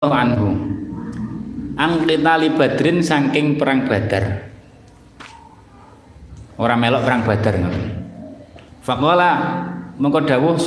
anhu angkitali badrin saking perang Badar. Ora melok perang Badar ngoten. Faqala mengko dawuh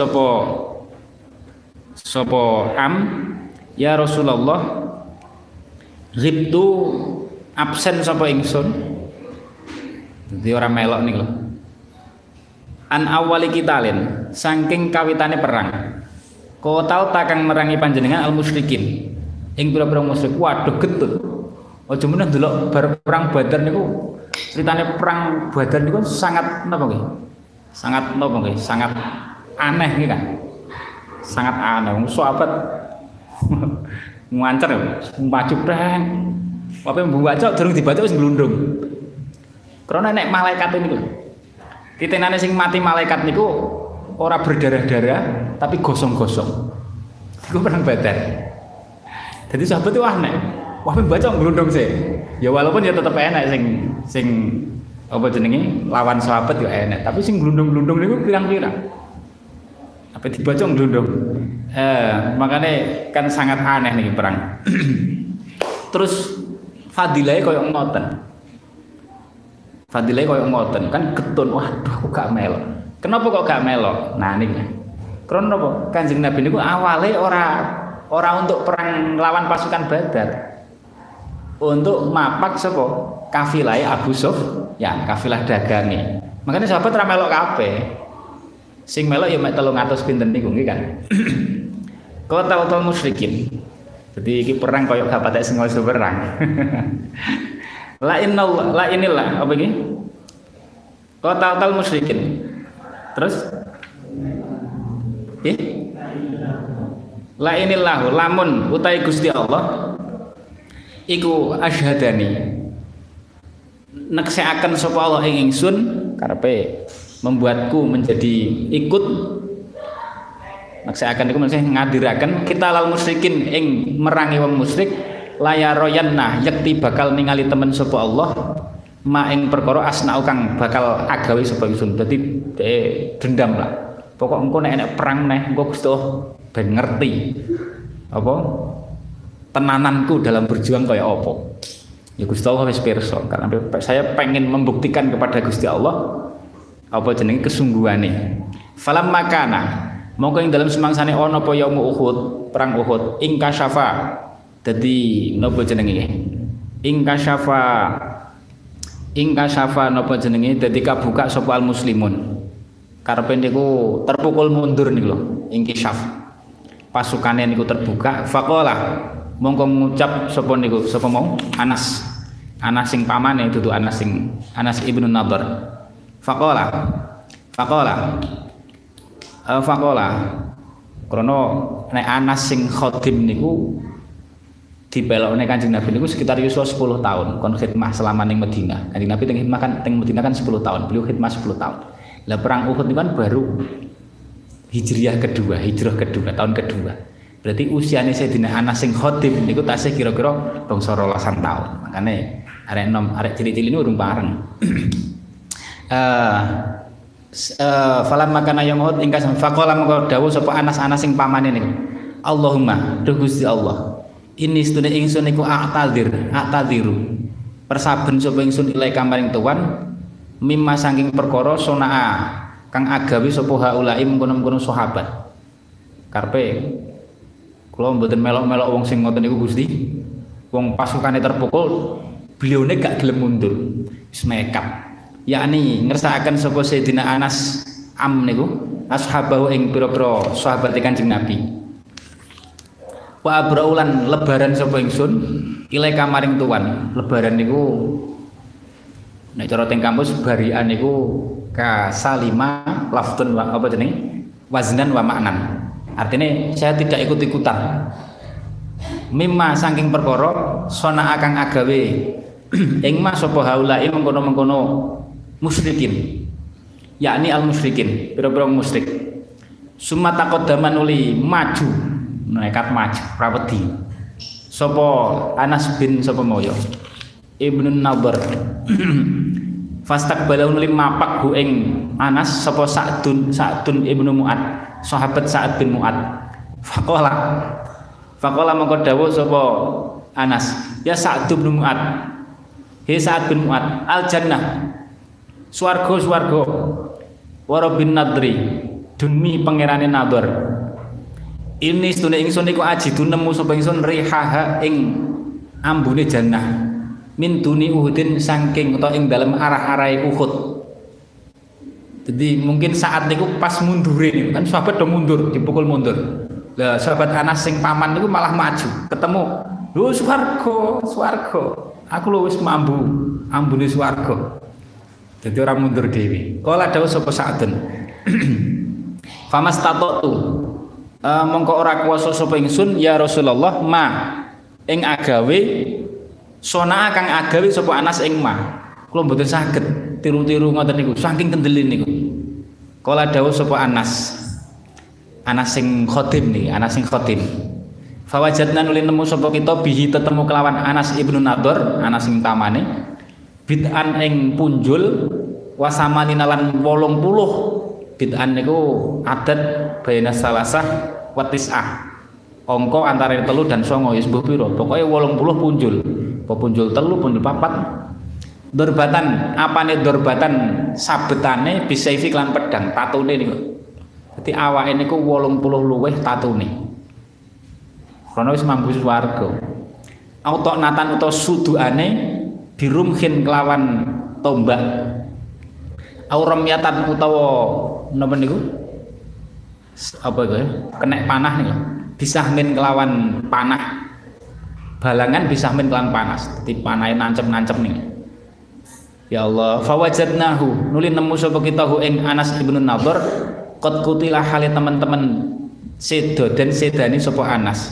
sapa ya Rasulullah, ghibtu absen sapa ingsun. Dadi ora melok niku lho. An awali kitalin saking kawitane perang. Kotal takang merangi panjenengan al musyrikin ing pira-pira musyrik. Waduh getut. Aja meneh ndelok bar perang Badar niku, ceritane perang Badar niku sangat napa nggih? Sangat napa nggih? Sangat aneh nggih kan? Sangat aneh. Wong sahabat ngancer maju preng. Apa mbaca durung dibaca wis glundung. Karena nek malaikat niku. Titenane sing mati malaikat niku ora berdarah-darah tapi gosong-gosong. Iku perang Badar. Jadi sahabat itu aneh. Wah baca nglundung sih. Ya walaupun ya tetep enak sing apa jenenge lawan sahabat ya enak, tapi sing glundung-glundung niku pirang-pirang. Apa dibaca nglundung. Makanya kan sangat aneh nih perang. Terus fadilahnya koyo ngoten. Fadilahnya koyo ngoten kan getun. Waduh aku gak melok. Kenapa kok gak melok? Nah niki. Karena apa? Kanjeng Nabi niku awale ora untuk perang lawan pasukan Badar. Untuk mapak sapa? Kafilah Abu Sufyan, kafilah dagange. Makanya sahabat ra melok kabeh. Sing melok ya mek 300 pinten niku nggih kan. Qatal musyrikin. Jadi iki perang koyo gak patek sing iso perang. La inillah apa iki? Qatal musyrikin. Terus la inillahu lamun utai Gusti Allah iku asyhadani nekseaken sapa Allah ing ingsun karepe membuatku menjadi ikut nekseaken iku maksudnya ngadiraken kita lal musyrikin ing merangi wong musyrik layaroyanna yakti bakal ningali temen sapa Allah ma ing perkara asnau kang bakal agawe sapa ingsun. Dadi dendam lah. Pokok engko nek enek perang neh engko Gusti Allah ben ngerti apa tenananku dalam berjuang kayak apa. Ya Gusti Allah wis pirsa karena saya pengen membuktikan kepada Gusti Allah apa jenenge kesungguhane. Falam makana mongko ing dalam semangsane ana apa yaum Uhud, perang Uhud ing kasyafa. Dadi napa jenenge? Ing kasyafa napa jenenge? Dadi kabuka sapa al muslimun. Karepe niku terpukul mundur niku lho, ing kisyaf. Pasukane niku terbuka, faqala mongko ngucap sapa niku sapa mau Anas sing pamane dudu Anas ibnu Nadhr. Faqala krana nek Anas sing khadim niku dipelokne Kanjeng Nabi niku sekitar yuswa 10 tahun kon khidmah selama ning Madinah. Kanjeng Nabi teng Madinah kan 10 tahun, beliau khidmah 10 tahun. Lah perang Uhud itu kan baru hijrah kedua, tahun kedua. Berarti usianya Sayyidina Anas sing khadim niku tasih kira-kira bangsa 12 tahun. Makane arek cilik-cilik ini urung bareng. Falam makana yang Uhud ingkang faqala mengko dawuh sapa Anas sing pamane niku. Allahumma duh Gusti Allah. Ini sedune ingsun niku a'tadiru. Persaben sapa ingsun ilai kamaring tuan mimma saking perkara sonaa kang agawe sapa haula'i mengkono-mengkono sahabat. Karepe kula mboten melok-melok wong sing ngoten niku Gusti. Wong pasukane terpukul, beliaune gak gelem mundur. Wis nekat. Yakni ngersakaken sapa Sayyidina Anas niku ashabahu ing pira-pira sahabat Kanjeng Nabi. Wa abraulan lebaran sapa ingsun ilai kamaring tuan. Lebaran niku nek cara teng kampus barian niku ka salima laftun wa apa jenenge waznan wa maknan. Artinya saya tidak ikut-ikutan. Mimma saking perkara sona akang agawe ing ma sapa haula'i mengkono-mengkono musyrikin. Yakni al musyrikin, pira-pira musyrik. Summa taqaddama nuli maju, nekat maju rawedi. Sapa Anas bin sapa moyo Ibnu Nadhr. Fastaqbalahu nuli mapak hu ing Anas sapa Sa'dun Ibnu Mu'ad, sahabat Sa'ad bin Mu'ad. Faqala Faqala mongko dawuh sapa Anas, ya Sa'd bin Mu'ad. He Sa'd bin Mu'ad, al jannah. Swarga. Wa rabbin nadri. Demi pangerane Nadhr. Ini sedune ingsun iku ajidu nemu sapa ingsun rihaha ing ambune jannah. Min duni Uhudin saking utawa ing dalem arah-arahe Uhud. Jadi mungkin saat niku pas mundure niku kan sahabat do mundur, dipukul mundur. Lah sahabat Anas sing paman niku malah maju, ketemu. Lho swarga. Aku lho wis mambu, ambune swarga. Jadi orang mundur dhewe. Kala dawuh sapa Sa'dun. Famastatu mongko ora kuwasa sapa ingsun ya Rasulullah ma ing agawe sona kang agawe sapa Anas ing ma. Kula mboten saged tiru-tiru ngoten niku saking kendeli niku. Kala dawuh sapa Anas sing khotim nih, Anas sing khotim. Fawajadna nuli nemu sapa kita bihi tetemu kelawan Anas ibnu Nadhr, Anas sing tamane bid'an ing punjul wasamanina lan 80. Bid'an niku adat baina salasah wa tis'ah. Angka antara 3 dan 9 ya sembuh pira. Pokoke 80 punjul. Apa punjul 3, punjul 4. Dorbatan, apane dorbatan sabetane bisaifi lan pedang, tatune niku. Dadi awake niku 80 luwih tatune. Karena wis mambu swarga. Auto natan utawa suduane dirumhin kelawan tombak. Auramyatan utawa napa niku? Apa iku? Kenek panah niku. Disahmin kelawan panah. Balangan disahmin kelawan panas. Dadi panahe nancep-nancep niku. Ya Allah, fawajadnahu nuli nemu sapa kita hu ing Anas ibnu Nadhr qad kutilah hale teman-teman sedo dan sedani sapa Anas.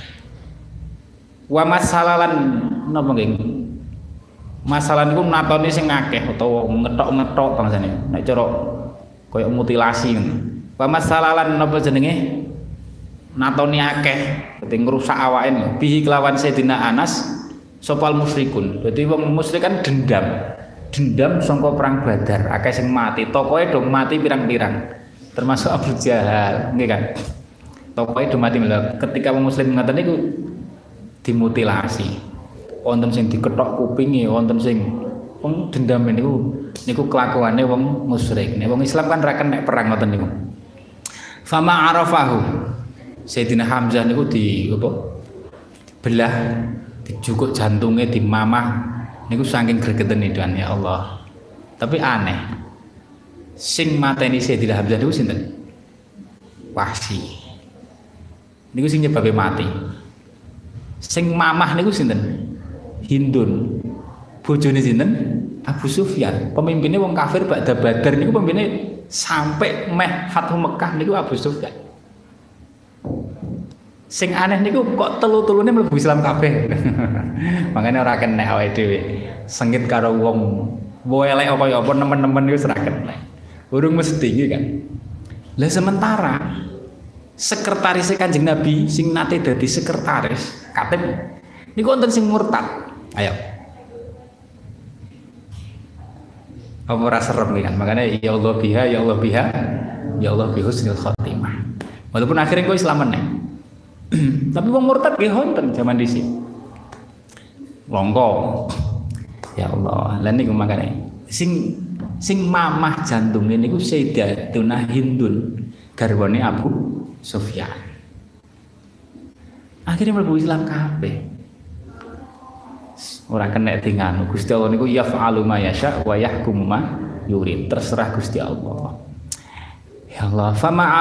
Wa masalalan napa nggih? Masalah niku natoni sing akeh utawa ngethok-ngethok bangsane. Nek cara koyo mutilasi ngono. Wa masalalan napa jenenge? Natoni akeh, dadi ngrusak awake bihi kelawan Sayyidina Anas sopal musyrikun. Dadi wong musyrik kan dendam sangka perang Badar, akeh sing mati, tokoe do mati pirang-pirang. Termasuk Abu Jahal, nggih kan. Tokoe do mati lho. Ketika wong muslim ngaten niku dimutilasi. Wonten sing dikethok kupinge, wonten sing wong dendam niku kelakuane wong musyrik. Nek wong Islam kan ra kenek perang ngoten niku. Fama arafahu. Sayyidina Hamzah niku belah, dijukuk jantungnya, dimamah. Niku saking gregeten idan ya Allah. Tapi aneh. Sing mateni Sayyidina Hamzah niku sinten? Wahsy. Niku sing nyebabe mati. Sing mamah niku sinten? Hindun. Bojone sinten? Abu Sufyan. Pemimpinnya wong kafir Ba'da Badar niku pemimpinnya sampai meh Fathu Mekah niku Abu Sufyan. Sing aneh niku kok telu-telune mlebu Islam kabeh. Makanya ora kenek awake dhewe. Sengit karo wong elek apa nemen-nemen iku ora kenek. Urung mesti iki kan. Lah sementara sekretaris Kanjeng Nabi sing nate dadi sekretaris katib niku wonten sing murtad. Ayo. Apa ora serem kan? Makanya ya Allah biha, ya Allah biha, ya Allah bihusnil khotimah. Walaupun akhirnya kok Islam meneh. Tapi wong murtad nggih wonten zaman dhisik. Longko. Ya Allah, lan niku makane sing mamah jantunge niku Sayyidatuna Hindun, garwane Abu Sufyan. Akhirnya mlebu Islam kabeh. Ora kena tinganu Gusti Allah niku yaf'alu ma yasha wa yahkumu ma yurid. Terserah Gusti Allah. Ya Allah, fama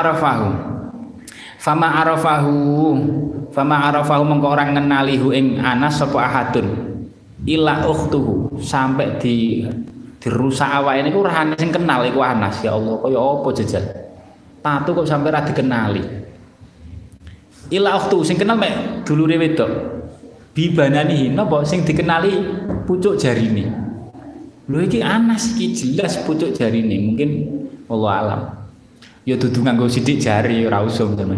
arafahu mengko orang ngenali hu ing Anas sapa ahadun ila ukhtuhu sampai dirusak awake niku ora ana sing kenal iku Anas. Ya Allah kaya apa jejal tatu kok sampai ora dikenali. Ila ukhtuhu sing kenal mek dulure wedok bibanani napa sing dikenali pucuk jarine. Lho iki Anas iki jelas pucuk jarine mungkin wallahu alam. Ya dudu nganggo sithik jari ora usum teman.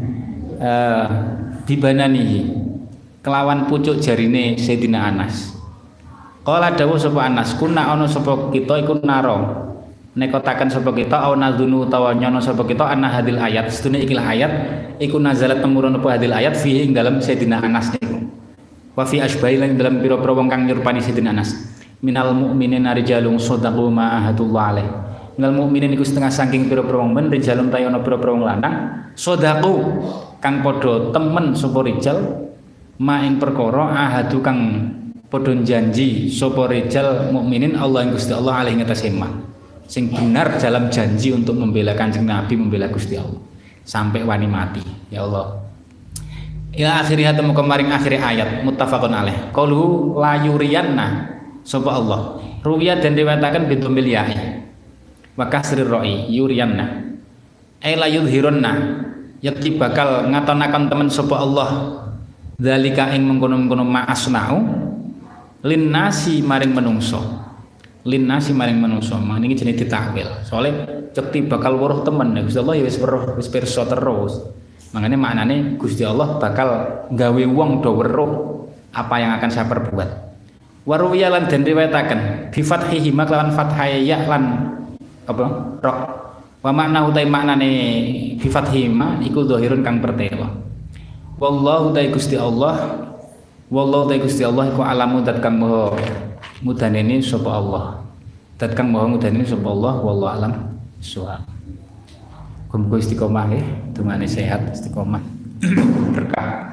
Dibanani kelawan pucuk jarine Sayyidina Anas. Qala dawuh sapa Anas, kuna ana sapa kita iku naro nekotaken sapa kita au nadzunu utawa nyono sapa kita anna hadil ayat sedune ikilah ayat iku nazalat temurun apa hadil ayat fihi ing dalam Sayyidina Anas niku wa fi asbahi lan dalam pira-pira wong kang nyurupani Sayyidina Anas minal mu'minina rijalun shadaqu ma ahadullah alaih minal mu'minin iku setengah saking pira-pira wong men rijalun ta ana pira-pira wong lanang shadaqu kang padha temen sapa rijal ma ing perkara ahadu kang padha janji sapa rijal mukminin Allah ing Gusti Allah alaihi ngatasi ma sing benar dalam janji untuk membela Kanjeng Nabi, membela Gusti Allah sampai wani mati. Ya Allah. Ila akhirih temu kemaring akhir ayat muttafaqun alaih. Qauluhu la yuriyanna sapa Allah. Ruwiyat dan riwayataken bidzamil ya'i. Wa kasrir ra'i yuriyanna. Ai la yudhirunna. Yakti bakal ngatonaken temen sapa Allah. Dzalika ing mengkono-mengkono ma'asna'u linnasi maring menungso. Linnasi maring manungsa mangene iki jenenge ditakwil soalnya cekti bakal weruh temen Gusti Allah ya wis weruh wis pirsa terus makanya maknane Gusti Allah bakal gawe wong do weruh apa yang akan saya perbuat waruwiya lan den riwayataken bi fathihi maklawan fathaya ya lan apa ra wa makna utai maknane bi fathihi ma iku zahirun kang pertelo wallahu ta Gusti Allah wallahu ta Gusti Allah iku alamu dat kang maha mudanene sapa Allah. Dat kang maha mudanene sapa Allah wallahu alam suha. Muga istiqomah nggih, dungane sehat istiqomah. Berkah.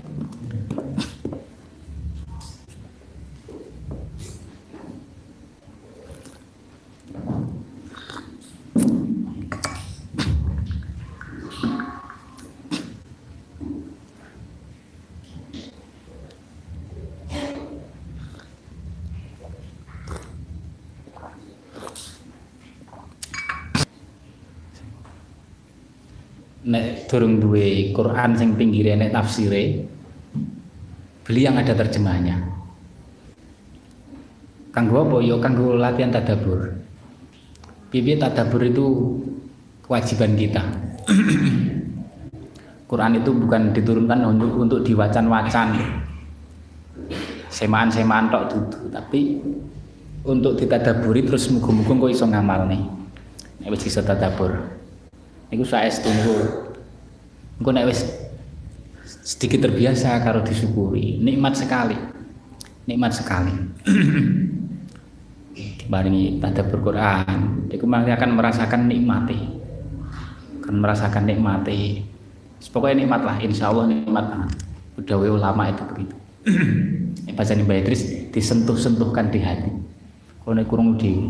Nek durung duwe Quran sing pinggire nek tafsire beli yang ada terjemahnya kanggo apa ya kanggo latihan tadabbur piye tadabbur itu kewajiban kita Quran itu bukan diturunkan untuk diwacan-wacan semaan-semaan tok dudu tapi untuk ditadaburi terus muga-muga kok iso ngamalne nek wis iso tadabbur niku saestu niku engko nek wis sedikit terbiasa karo disyukuri nikmat sekali dibarengi tadabbur Quran iku akan merasakan nikmati pokoknya nikmat lah insyaallah nikmat banget budaya ulama itu begitu bacaan Mbak Idris disentuh-sentuhkan di hati kalau nek kurang di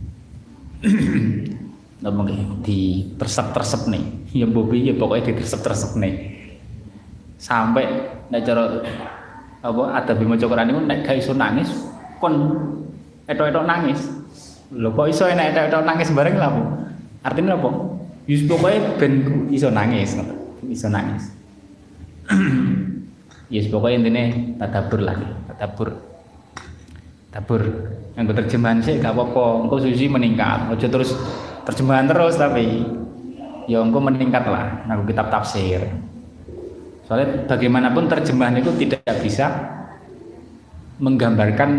ngomong di tersep nih ya bobi ya pokoknya di tersep nih sampai nek cara apa ada bima Quran niku nek gak iso nangis kon etok-etok nangis lho kok iso nek etok-etok nangis bareng lha apa artinya apa wis pokoke ben iso nangis yes pokoknya intine tadabbur lagi tadabbur yang terjemahan sih gak apa-apa engko susi meningkat aja terus terjemahan terus tapi ya engko meningkat lah nganggo kitab tafsir soalnya bagaimanapun terjemahan itu tidak bisa menggambarkan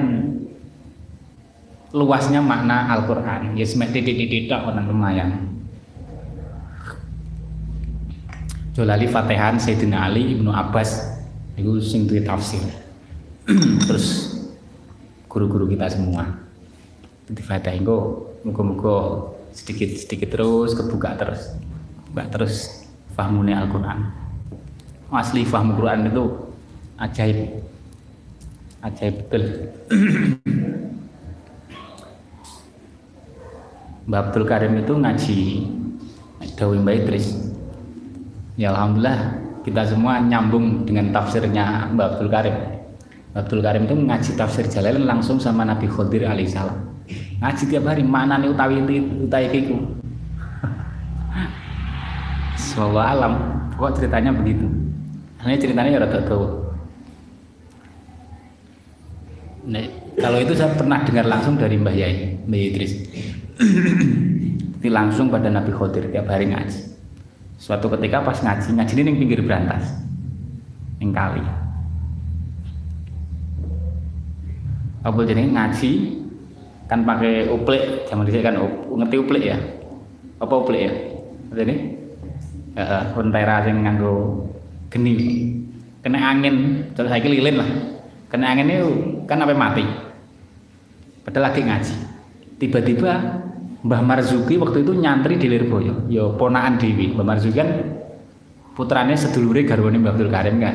luasnya makna Al-Quran ya semek titik-titik tok ono lumayan Jolali Fatihan Sayyidina Ali Ibnu Abbas itu sing duwe tafsir terus guru-guru kita semua di Fatihah engko muga-muga sedikit terus kebuka terus fahmune Al-Quran asli fahmu Quran itu ajaib betul Mbak Abdul Karim itu ngaji dawuh Mbak Idris ya alhamdulillah kita semua nyambung dengan tafsirnya Mbak Abdul Karim Mbak Abdul Karim itu ngaji tafsir Jalalain langsung sama Nabi Khidir alaihissalam ngaji tiap hari maknane utawi iku wallahu alam kok ceritanya begitu ini ceritanya ya rada dawa nah, kalau itu saya pernah dengar langsung dari Mbah Idris langsung pada Nabi Khidir tiap hari ngaji suatu ketika pas ngaji ini ning pinggir brantas ning kali apa jenenge ngaji kan pakai uplik, zaman dhisik kan ngerti uplik ya. Apa uplik ya? Ngerti? Heeh, kontera sing nganggo geni. Kena angin, terus saiki lilin lah. Kena angin itu kan sampai mati. Padahal lagi ngaji. Tiba-tiba Mbah Marzuki waktu itu nyantri di Lirboyo. Ya ponakan Dewi. Mbah Marzuki kan putrane sedulure garwane Mbah Abdul Karim kan.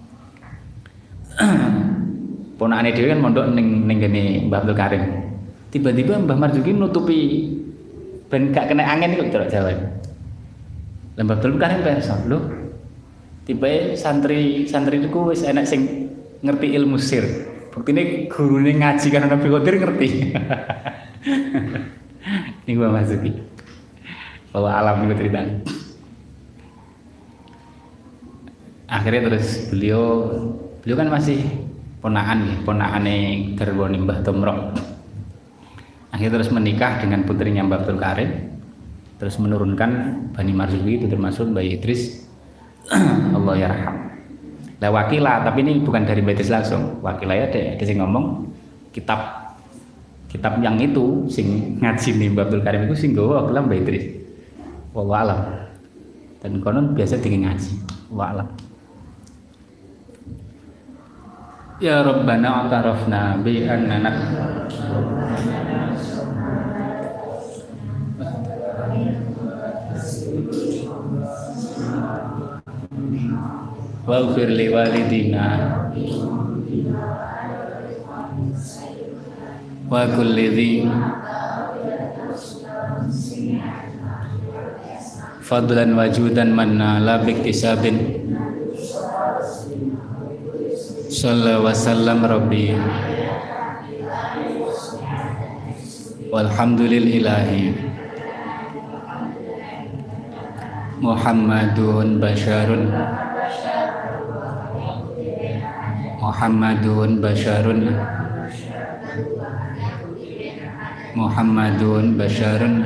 Ponakane dhewe kan mondok ning gene Mbah Abdul Karim. Tiba-tiba Mbah Marzuki nutupi ben gak kena angin iku cara Jawa. Lah Mbah Abdul Karim perso, lho. Tiba santri niku wis enak sing ngerti ilmu sir. Buktine gurune ngaji kan Nabi Qadir ngerti. Niku Mbah Marzuki. Bahwa alam niku cerita. Akhirnya terus beliau kan masih ponakane garwane Mbah Tomrok. Akhirnya terus menikah dengan putrinya Mbah Abdul Karim, terus menurunkan Bani Marzuki itu termasuk Mbah Idris. Allah yarham. Lah Wakilah, tapi ini bukan dari Mbah Idris langsung. Wakilah ya ada sing ngomong kitab yang itu sing ngaji nih Mbah Abdul Karim itu sing nggawa Wakilah Mbah Idris. Wallahu alam. Dan konon biasa dingin ngaji. Wallahu alam. Ya Rabbana atarafna bi annana waghfir li walidina wa kulli dhi fadlan wajudan manna la biktisabin sallallahu wasallam rabbi walhamdulillahi Muhammadun basharun Muhammadun basharun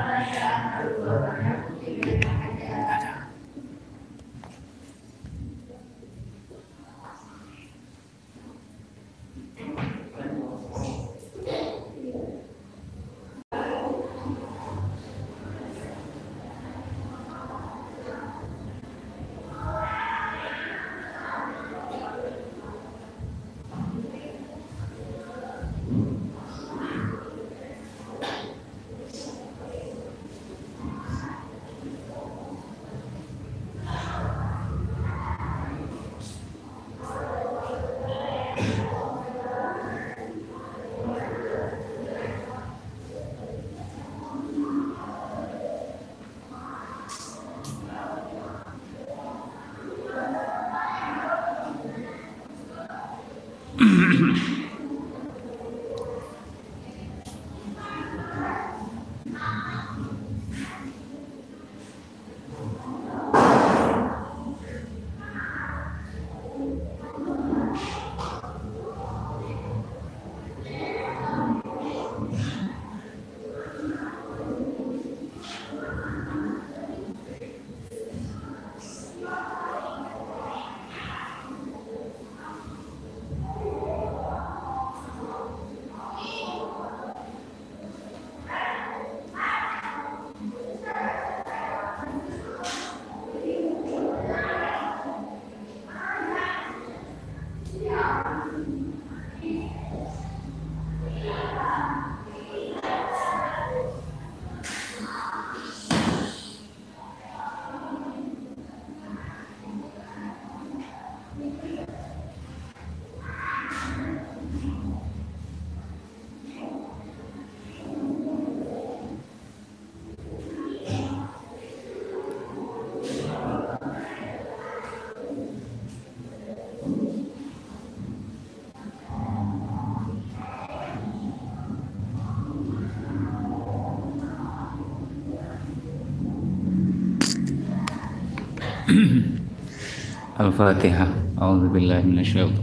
Al-Fatihah. A'udzubillahi minasyaitonir.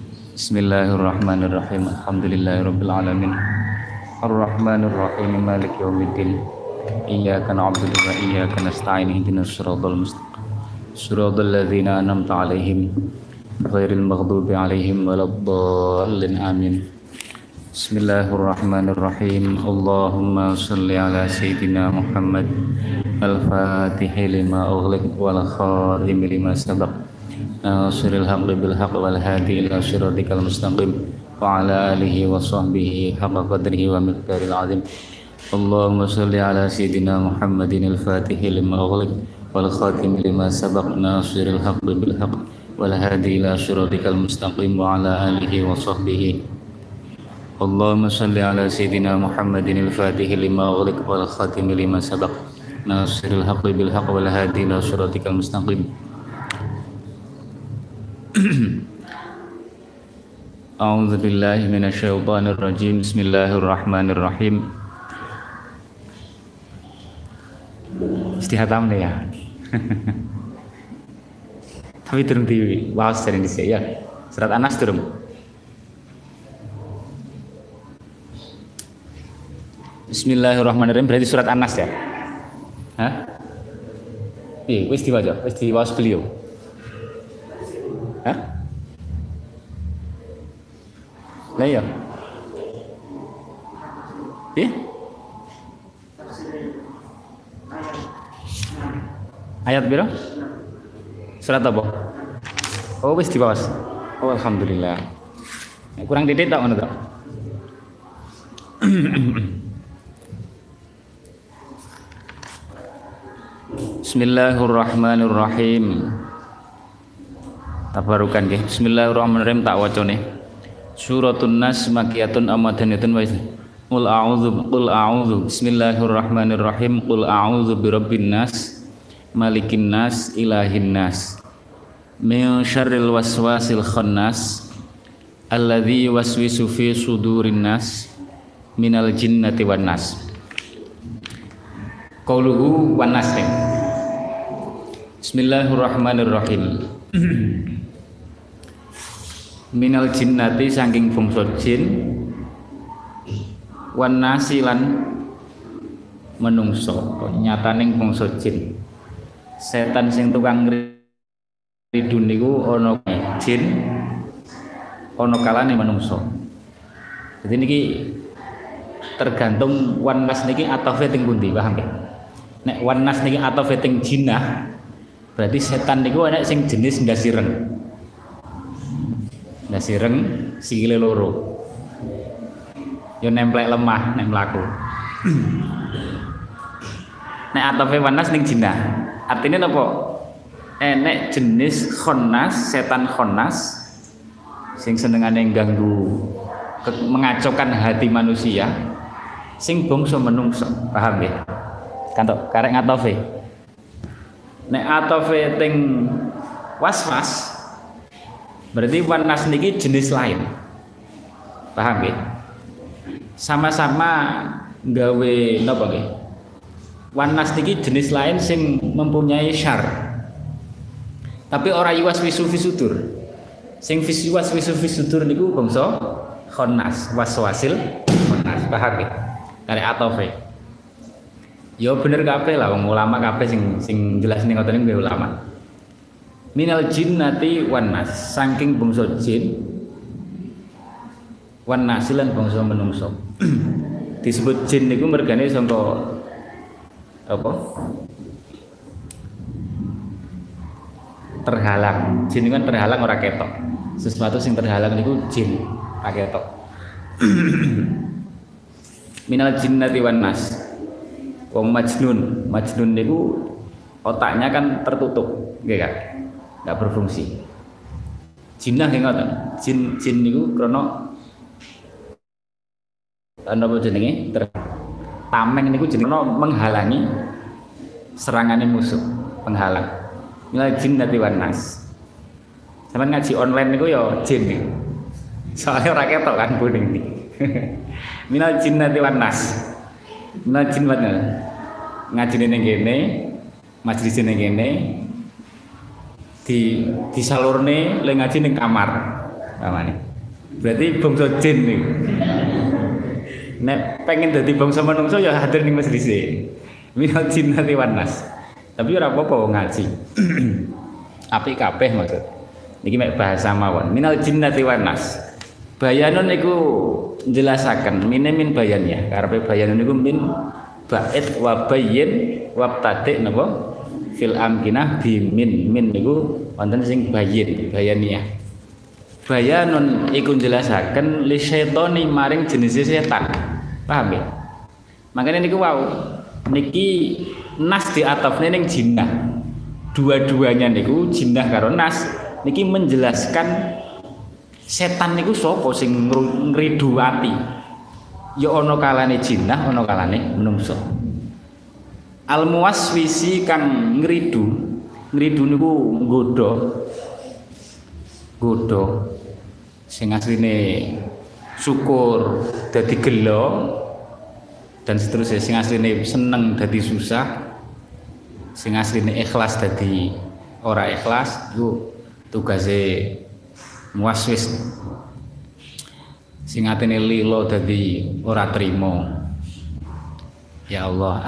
Bismillahirrahmanirrahim. Alhamdulillahirabbil alamin. Arrahmanir rahim. Maliki yaumiddin. Iyyaka na'budu wa iyyaka nasta'in. Ihdinas siratal mustaqim. Siratal ladzina an'amta 'alaihim ghairil maghdubi 'alaihim waladdallin. Amin. Bismillahirrahmanirrahim. Allahumma shalli ala sayyidina Muhammad al-Fatih lima ughliq wal khatim lima sabaq. Nasiril haqqi bil haqq wal hadi ila siratikal mustaqim wa ala alihi wa sahbihi haqqa qadrihi wa miqdaril azim. Allahumma shalli ala sayyidina Muhammadin al-Fatih lima ughliq wal khatim lima sabaq. Nasiril haqqi bil haqq wal hadi ila siratikal mustaqim wa ala alihi wa sahbihi. Allahumma salli ala sayyidina Muhammadin al-Fatih lima ughliq wal khatim lima sabaq. Nasiril haqqi bil haqq wal hadi ila siratikal mustaqim. A'udzu billahi minasyaitonir rajim. Bismillahirrahmanirrahim. Istihatam nih ya. Tapi turun di wawas dari Indonesia ya. Surat Anas turun. Bismillahirrahmanirrahim, berarti surat Anas ya? Hah? Iya, wis diwaca, wis diwaos beliau. Hah? Lah iya. Iya? Ayat berapa? Surat apa? Oh, wis diwaos. Oh, alhamdulillah. Kurang titik tak ngono tak? Bismillahirrahmanirrahim. Tabarukan nggih. Bismillahirrahmanirrahim tak wacane. Suratun Nas makiyatun amadaniyatun wa qul a'udzu Bismillahirrahmanirrahim. Qul a'udzu birabbin nas malikin nas ilahin nas min syarril waswasil khannas alladzi waswisu fi sudurin nas minal jinnati wan nas. Qauluhu wan nas. Bismillahirrahmanirrahim. Minal jinnati saking bangsa jin wan nasilan menungso. Nyataning bangsa jin. Setan sing tukang ridun niku ana jin, ana kalane menungso. Jadi niki tergantung wan nas niki atafe teng pundi, paham nggih? Nek wan nas niki atafe teng jinnah, berarti setan niku ana sing jenis ndasireng. Ndasireng sikile loro. Yo nemplek lemah nek mlaku. Nek atafe wan nas ning jinnah, artinya napa? Nek jenis khannas, setan khannas sing senengane ganggu mengacaukan hati manusia sing bangsa menungso, paham ya? Kantok karek ngatofe. Nek atofe teng waswas berarti wanas niki jenis lain. Paham ya? Sama-sama gawe napa nggih? Wanas niki jenis lain sing mempunyai syar. Tapi ora yuwaswisu fi sudur. Sing yuwaswisu fi sudur niku bangsa khannas, waswasil khannas, paham ya? Karek atofe. Ya bener kabeh lah wong ulama kabeh sing jelas ning ngoten niku ulama. Minal jinnati wan nas, saking bangsa jin wan nas lan bangsa menungso. Disebut jin niku mergane sangka apa? Terhalang. Jin kan terhalang ora ketok. Sesuatu sing terhalang niku jin, ora ketok. Minal jinnati wan nas. Wong majnun niku otaknya kan tertutup, nggih kan? Enggak berfungsi. Jinnah nggih ngoten. Jin niku krana napa jenenge? Tameng niku jenenge menghalangi serangane musuh, penghalang. Minal jinnati wan nas. Sampeyan ngaji online niku ya jin niku. Soale ora ketok kan kuning iki. Minal jinnati wan nas. Najin wae ngajine ning kene, majelis ning kene disalurne le ngaji ning kamar. Pamane. Berarti bangsa jin niku. Nek pengen dadi bangsa manungsa ya hadir ning majelis e. Minal jinnati wan nas. Tapi ora apa-apa ngaji. Apik kabeh maksud. Niki mek bahasa mawon. Minal jinnati wan nas. Bayanun iku njelasaken min bayan ya. Karepe bayanun iku min ba'id wa bayyin wa tadi napa fil amkinah bi min niku wonten sing bayyin bayaniyah. Bayanun iku njelasaken li syaitani maring jenis setan. Paham ya? Makanya niku wau niki nas diatafne ning jinnah. Dua-duanya niku jinnah karo nas niki menjelaskan setan niku sapa sing ngridu ati. Ya ana kalane jinnah, ana kalane menungso. Al muwaswisi kang ngridu niku nggodha sing asline syukur dadi gelo dan seterusnya, sing asline seneng dadi susah, sing asline ikhlas dadi ora ikhlas. Iku tugase muwaswis. Sing atene lilo dadi ora trimo. Ya Allah,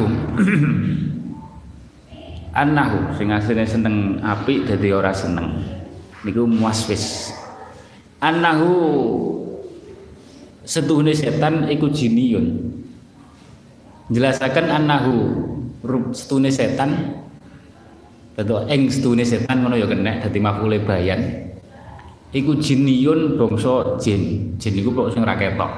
annahu sing asline seneng apik dadi ora seneng. Niku muwaswis. Annahu setuhune setan iku jiniyun. Jelasaken annahu setuhune setan. Dadi ing setuhune setan ngono ya kena dadi maf'ule bayan. Iku jiniyun bangsa jin. Jin iku kok sing ora ketok.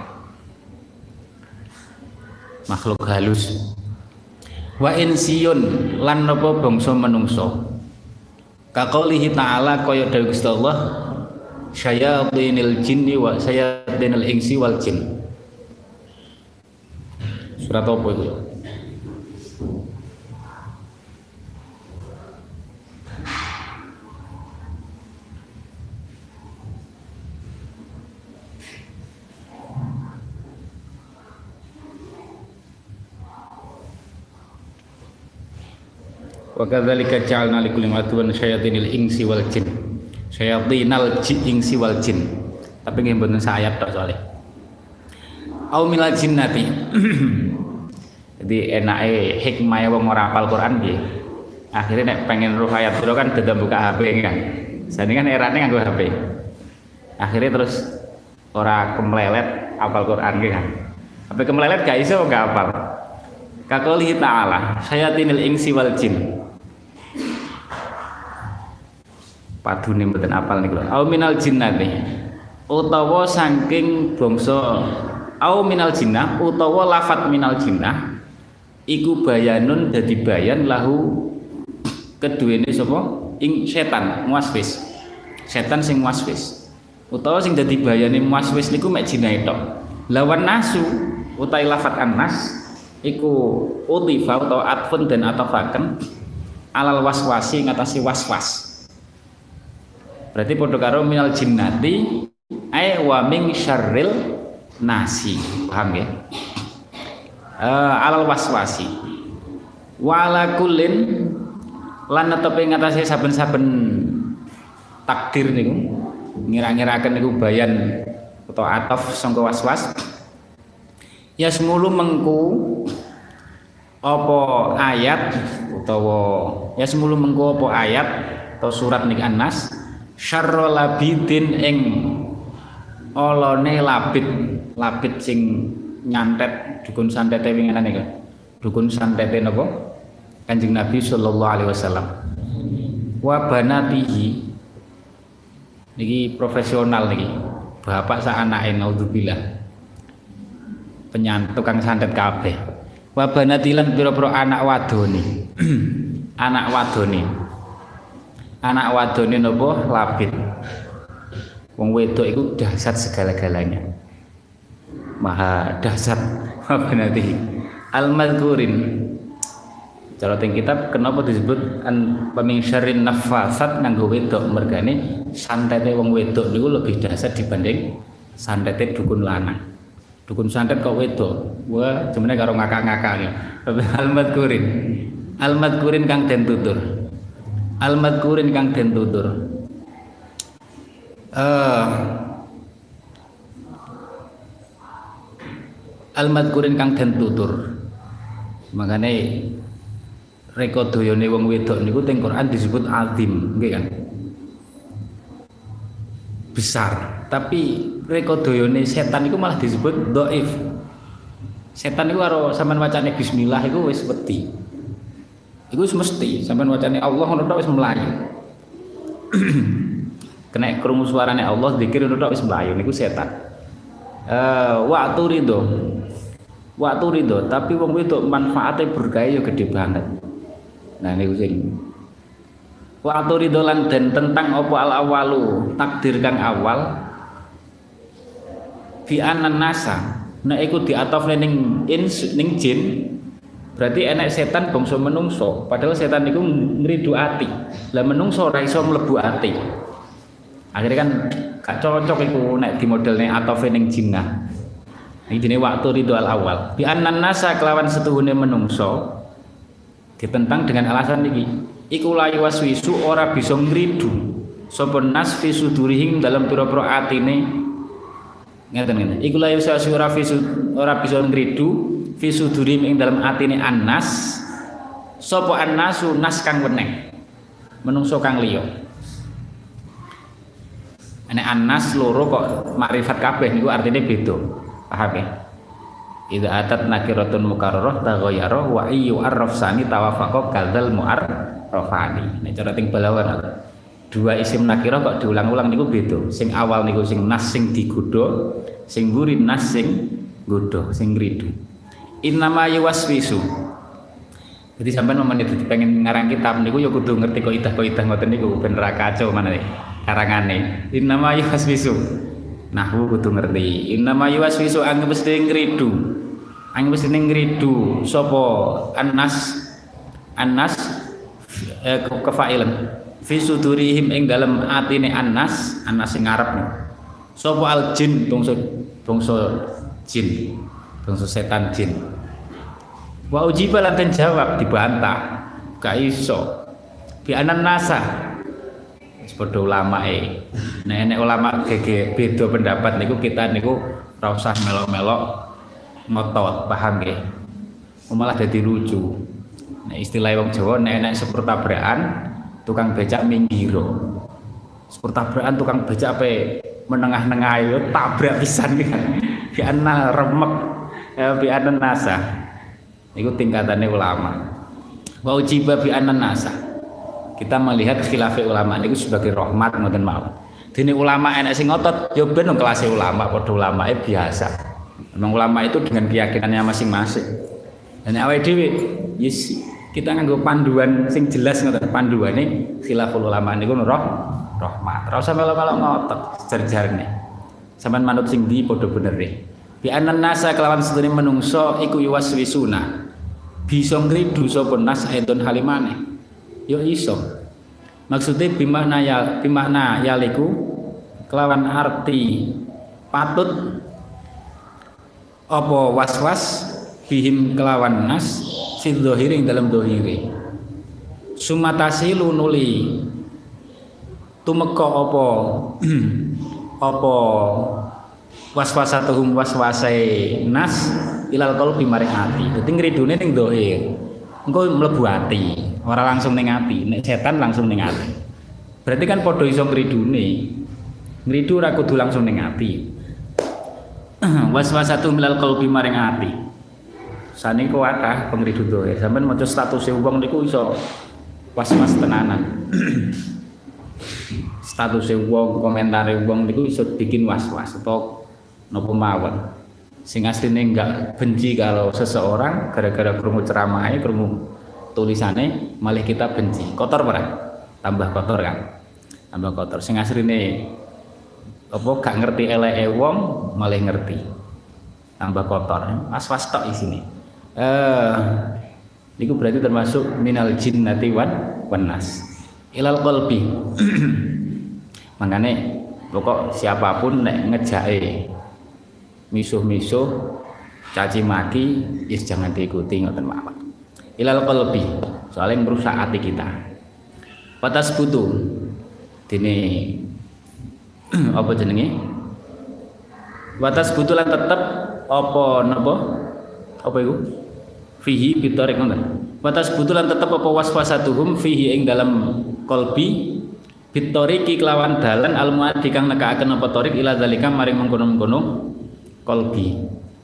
Makhluk halus. Wa insiyun lan napa bangsa menungso. Kaqaulihi ta'ala kaya dawuh Gusti Allah, syayatinil jinni wa syayatinil insi wal jin. Surat apa itu? Wa kadzalika ja'alna likulli aduwwan syayatinil insi wal jin. Syayatinal insi wal jin. Tapi nggih mboten sak ayat tok soalé. Au minal jinnati. Jadi enake hikmah wong ora hafal Quran piye? Akhire nek pengen roh ayat pira kan dadi buka HP kan. Jane kan erane nganggo HP. Akhire terus ora kemlelet hafal Quran ki kan. Tapi kemlelet gak iso gak hafal. Kaqaulihi ta'ala, syayatinil insi wal jin. Padune mboten apal niku lho. Au minal jinnati. Utawa saking bangsa au minal jinnah utawa lafat minal jinnah iku bayanun dadi bayan lahu keduwene sapa? Ing setan muwaswis. Setan sing muwaswis. Utawa sing dadi bayane muwaswis niku mek jinah tok. Lawan nasu utawi lafat annas iku utifa utawa atfun dan atafaken alal waswasi ngatasi waswas. Berarti padha karo minal jinnati ay wa min syarril nasi. Paham ya? Alal waswasi. Wa ala kullin lan netepe ngatasi saben-saben takdir niku ngira-ngiraken niku bayan utawa ataf sangka waswas. Ya semulu mengku apa ayat utawa ya semulu mengku apa ayat atau surat niki An-Nas syarrul labidin ing olone labid sing nyantet dukun santete winginan niku. Dukun santete napa? Kanjeng Nabi sallallahu alaihi wasallam. Wa banatihi niki profesional niki. Bapak sak anake naudzubillah. Tukang santet kabeh. Wa banatilan pira-pira anak wadone. Anak wadone napa labid. Wong wedok iku dahsyat segala-galanya. Maha dahsyat apa nanti al-madzurin. Cara teng kitab kenapa disebut paming syarrin nafasat nganggo wedok mergane santete wong wedok niku lebih dahsyat dibanding santete dukun lanang. Dukun santet kok wedok. Wah, jenenge karo ngakak-ngakak ya. Al-madzurin. Al-madzurin kang den tutur. Al-madzurin kang den tutur. Al-madzurin kang den tutur. Makane rekodayane wong wedok niku teng Quran disebut azim, nggih kan? besar, tapi rekodone setan itu malah disebut dhaif. Setan itu karo sampean wacane bismillah iku wis wedi. Iku wis mesti sampean wacane Allah ngono tok wis mlayu. Kena krungu suarane Allah zikir ngono tok wis mlayu niku setan. Waktu ridho, tapi wong wedok manfaate berkah ya gede banget. Nah niku sing waktu ridho lan den tentang apa al awalu takdir kang awal fi anan nasa nek iku diatofne ning jin berarti enek setan bangsa menungso padahal setan niku ngridu ati lah menungso ora iso mlebu ati akhirnya kan gak cocok iku nek di modelne atofne ning jinnah iki jenenge waktu ridho al awal bi anan nasa kelawan setuhune menungso ditentang dengan alasan iki iku layu waswisu ora bisa ngridu sapa nas fi sudurihim dalam pira-pira atine ngeten iku layu waswisu ora bisa ngridu fi sudurihim ing dalam atine annas sapa annasu nas kang weneh menungso kang liya nek annas loro kok makrifat kabeh niku artine beda paham ya idza atat nakiratun mukarrarah taghayyara wa ayyu arrafsani tawafaqa kadzal mu'arrafani. Nek cara ting balawan dua isim nakirah kok diulang-ulang niku beda. Sing awal niku sing nas sing digodha, sing mburi nas sing godha, sing ngridu. Innama yuwaswisu. Jadi sampean menawa pengen ngarang kitab niku ya kudu ngerti kaidah ngoten niku ben ra kacau maneh karangane. Innama yuwaswisu. Nahwu kudu ngerti. Innama yuwaswisu anggep mesti ngridu. Angin mesti ngridu sapa annas kefailan fi sudurihim ing dalem atine annas sing ngarep sapa al jin bangsa jin bangsa setan jin wa ujiba lan jawab dibantah gak iso bi anan nasa padha ulamae nek ulama gege beda pendapat niku kita niku ora usah melok-melok ngotot paham nggih malah dadi lucu nek istilah wong Jawa nek sepur tabrakan tukang becak minggiro sepur tabrakan tukang becak ape menengah-nengah yo tabrak pisan ki ana remek bi anan nasa iku tingkatane ulama wa ujiba bi anan nasa kita melihat khilafah ulama niku sebagai rahmat ngoten mawon dene ulama enek sing ngotot yo ben kelas ulama padha ulamae biasa. Memang ulama itu dengan keyakinannya masing-masing. Dan awake dhewe yes kita nganggo panduan sing jelas ngoten panduane khilaful ulama niku rahmat. Ora usah melok-melok ngotot jar-jarne. Sampeyan manut sing ndi padha benere. Bi anan nasa kelawan sedene menungso iku yuwaswisuna. Bisa ngridu sapa nas aidon halimane. Yo iso. Maksudnya bimakna yaliku kelawan arti patut apa waswas bihim kelawan nas fil dhahiri dalam dhahiri sumatasilu nuli tumeka apa waswasatuhum waswasai nas ilal qalbi maring ati dadi ngridune ning dhahir engko mlebu ati ora langsung ning ati nek setan langsung ning ati berarti kan padha iso ngridune ngridu ora kudu langsung ning ati waswasatu milal qalbi maring ati saniku kathah pengridu doe sampean maca status wong niku iso was-was tenanan status wong komentare wong niku iso bikin was-was atau napa mawon sing asline enggak benci kalau seseorang gara-gara krungu ceramahe krungu tulisane malah kita benci kotor ora tambah kotor kan tambah kotor sing asline apa gak ngerti eleke wong malah ngerti tambah kotor was-was tok isine niku berarti termasuk minal jinnati wan nas ilal qalbi makane pokok siapapun nek ngejake misuh-misuh caci maki is jangan diikuti ngoten mawon ilal qalbi soalnya merusak hati kita patas butuh dene apa jenenge watas butulan tetep apa napa apa iku fihi bitarik ngoten watas butulan tetep apa waswasatuhum fihi ing dalam qalbi bitoriki kelawan dalan almuadi kang nekaaken apa torik ila zalika maring mengkono-mengkono kolbi.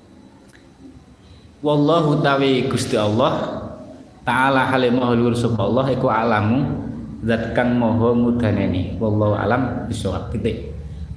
Wallahu tawi Gusti Allah taala halimah luhur sapa Allah iku alamu zat kang maha mudaneni. Wallahu alam bisawab. Titik.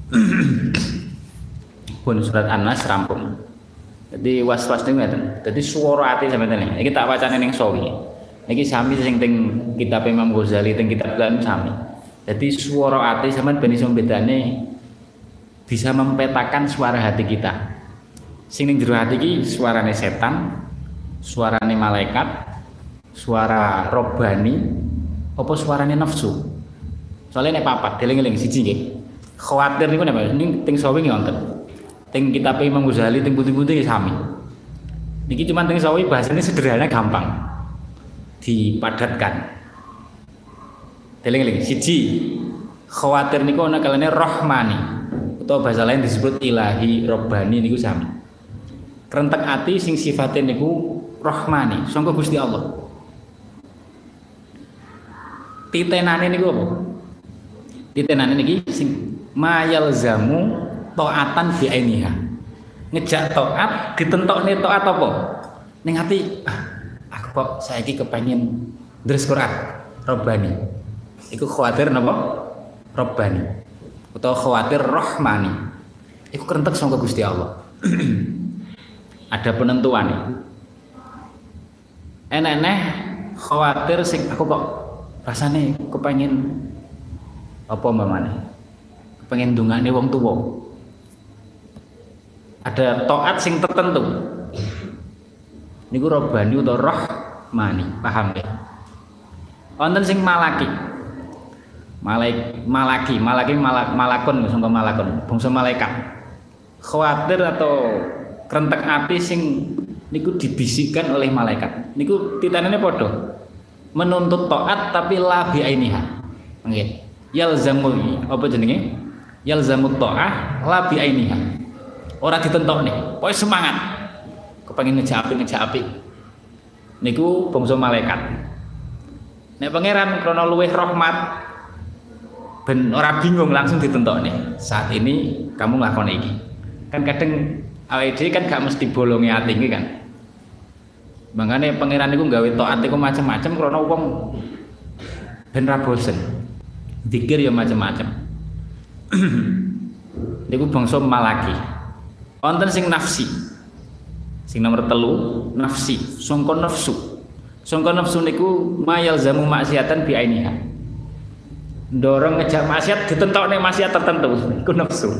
Pun surat An-Nas rampung. Jadi was-was niku ngeten. Dadi swara ati sampeyan iki. Iki tak wacane ning sawi. Iki sami sing teng kitab Imam Ghazali teng kitab lan sami. Jadi swara ati sampeyan ben iso bedane bisa mempetakan suara hati kita. Sing ning jero hati iki suarane setan, suarane malaikat, suara robbani, apa suarane nafsu. Soalnya nek papat deling-eling siji nggih. Khawatir niku napa? Ning teng sawi wonten. Teng kitab Imam Ghazali teng putih-putih sami. Niki cuma teng sawi bahasane sederhana gampang. Dipadatkan. Deling-eling siji. Khawatir niku ana kalane rahmani utawa bahasa lain disebut ilahi robbani niku sami. Krentek ati sing sifatnya niku rahmani, sangka Gusti Allah. Titenane niku apa? Titenane niki sing mayalzamu taatan bi ainiha. Ngejak taat ditentokne taat apa? Ning ati aku kok saiki kepengin ndres Quran Rabbani. Iku khawatir napa? Rabbani. Utawa khawatir rahmani. Iku krentek sangka Gusti Allah. Ada penentuan. Enek-enek khawatir sing aku kok rasane kepengin apa mamane? Kepengin ndongane wong tuwa. Ada taat sing tertentu. Niku Rabbani utawa Rahmani, paham ya? Wonten sing malaki. Malakun sangka malakun, bangsa malaikat. Khawatir atau krentek ati sing niku dibisikkan oleh malaikat. Niku titanane padha. Menuntut taat tapi la bi ainiha. Nggih. Yalzamul apa jenenge? Yalzamut ta'ah la bi ainiha. Ora ditentokne, pokoke semangat. Kepengin ngejak apik. Niku bangsa malaikat. Nek pangeran krana luweh rahmat ben ora bingung langsung ditentokne. Saat ini kamu nglakoni iki. Kan kadang awake dhewe kan gak mesti bolonge ati iki kan. Mangane pangeran niku gawe taat iku macam-macam krana wong ben ra bosen. Zikir ya macam-macam. Niku bangsa malaki. Wonten sing nafsi. Sing nomor 3 nafsi, sangka nafsu. Sangka nafsu niku mayalzamu maksiatan bi ainiha. Ndorong ngejak maksiat ditentokne maksiat tertentu, iku nafsu.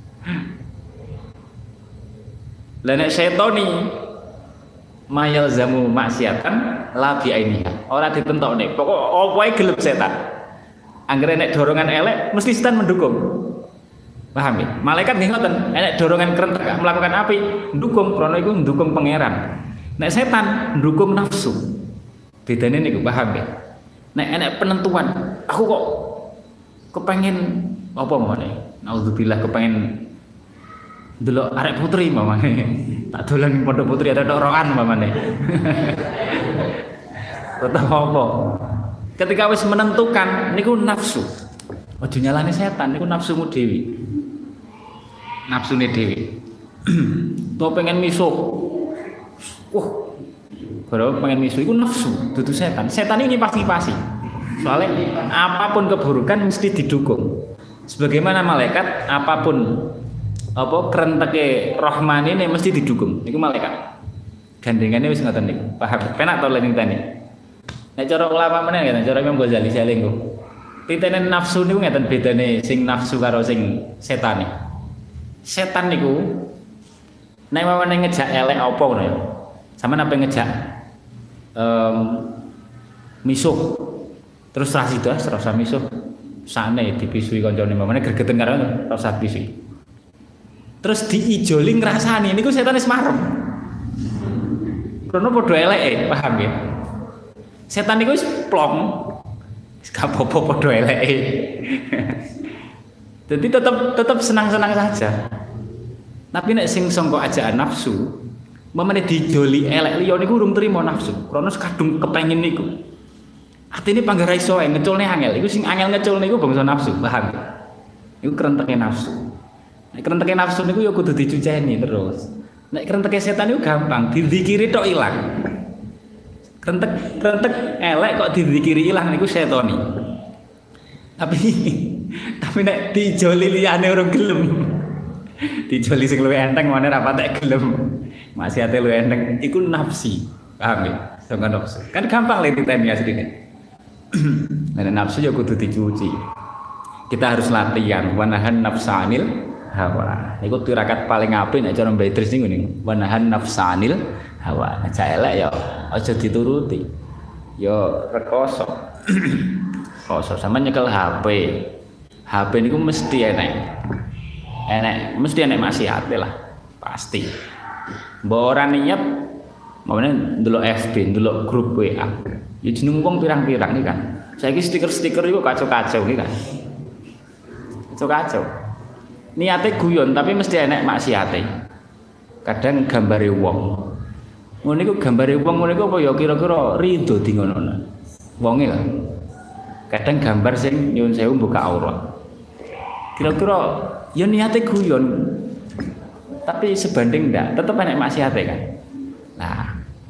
Lah nek setoni mayalzamu maksiatan la bi ainiha. Ora ditentokne, pokok opoe gelem setan. Anggere nek dorongan elek mesti setan mendukung. Paham ya? Malaikat nggih ngoten, nek dorongan krentek melakukan api, ndukung krana iku ndukung pangeran. Nek setan ndukung nafsu. Bedane niku paham ya? Nek enek penentuan, aku kok kepengin apa mawon? Nauzubillah kepengin delok arek putri mamane. Tak dolan ning pondok putri ada rokan mamane. Tetep apa? Ketika wis menentukan niku nafsu. Aja nyalane setan niku nafsumu dhewe. Nafsune dhewe. Tuh pengen misuh. Baru pengen misuh iku nafsu, dudu setan. Setan ini pasti. Soalnya apapun keburukan mesti didukung. Sebagaimana malaikat apapun apa krenteke Rahman ini mesti didukung. Niku malaikat. Gandengane wis ngoten niku. Paham? Penak to lening tani. Nek cara ulama meneh ngeten, cara Imam Ghazali salinggo. Titene nafsu niku ngeten bedane sing nafsu karo sing setane. Setan niku nek mamane ngejak elek apa ngono ya. Sampeyan apa ngejak misuh. Terus rasa misuh. Sane dipisui kancane mamane gregeten karo rasa pisui. Terus diijoli ngrasani niku setan wis marem. Krono padha eleke, paham ya? Setan niku wis plong. Wis gak apa-apa padha eleke. Jadi tetap senang-senang saja. Tapi nek sing sangka ajaan nafsu, mamane dijoli elek liya niku urung trimo nafsu. Krono kadung kepengin niku. Atine panggara iso ngeculne angel. Iku sing angel ngeculne iku bangsa nafsu, paham? Iku kerenteke nafsu. Nek kerenteke nafsu niku ya kudu dicuceni terus. Nek kerenteke setan iku gampang, dizikiri tok ilang. Krentek elek kok dizikiri ilang niku setoni. Tapi nek dijoli liyane ora gelem. Dijoli sing luwih enteng mana ra patek gelem. Maksiate luwih enteng iku nafsi. Paham ya? Sing nafsu. Kan gampang le diteni asline. Nek nafsu ya kudu dicuci. Kita harus latihan wanahan nafsanil hawa. Niku tirakat paling apik nek cara Mbak Idris niku niku. Wanahan nafsanil hawa. Aja elek ya aja dituruti. Ya rekoso. Koso sama nyekel HP. HP niku mesti enek. Mesti enek maksiate lah. Pasti. Mbok ora niat mamane ndelok FB, ndelok grup WA. Ya jeneng wong pirang-pirang iki kan. Saiki stiker-stiker iku kacau-kacau iki kan. Kacau-kacau. Niate guyon tapi mesti enek maksiate. Kadang gambare wong. Ngono iku gambare wong ngono iku apa ya kira-kira rido di ngono. Wonge lho. Kadang gambar sing nyuwun sewu buka aurat. Kira-kira ya niate guyon. Tapi sebanding ndak, tetep enek maksiate kan. Nah.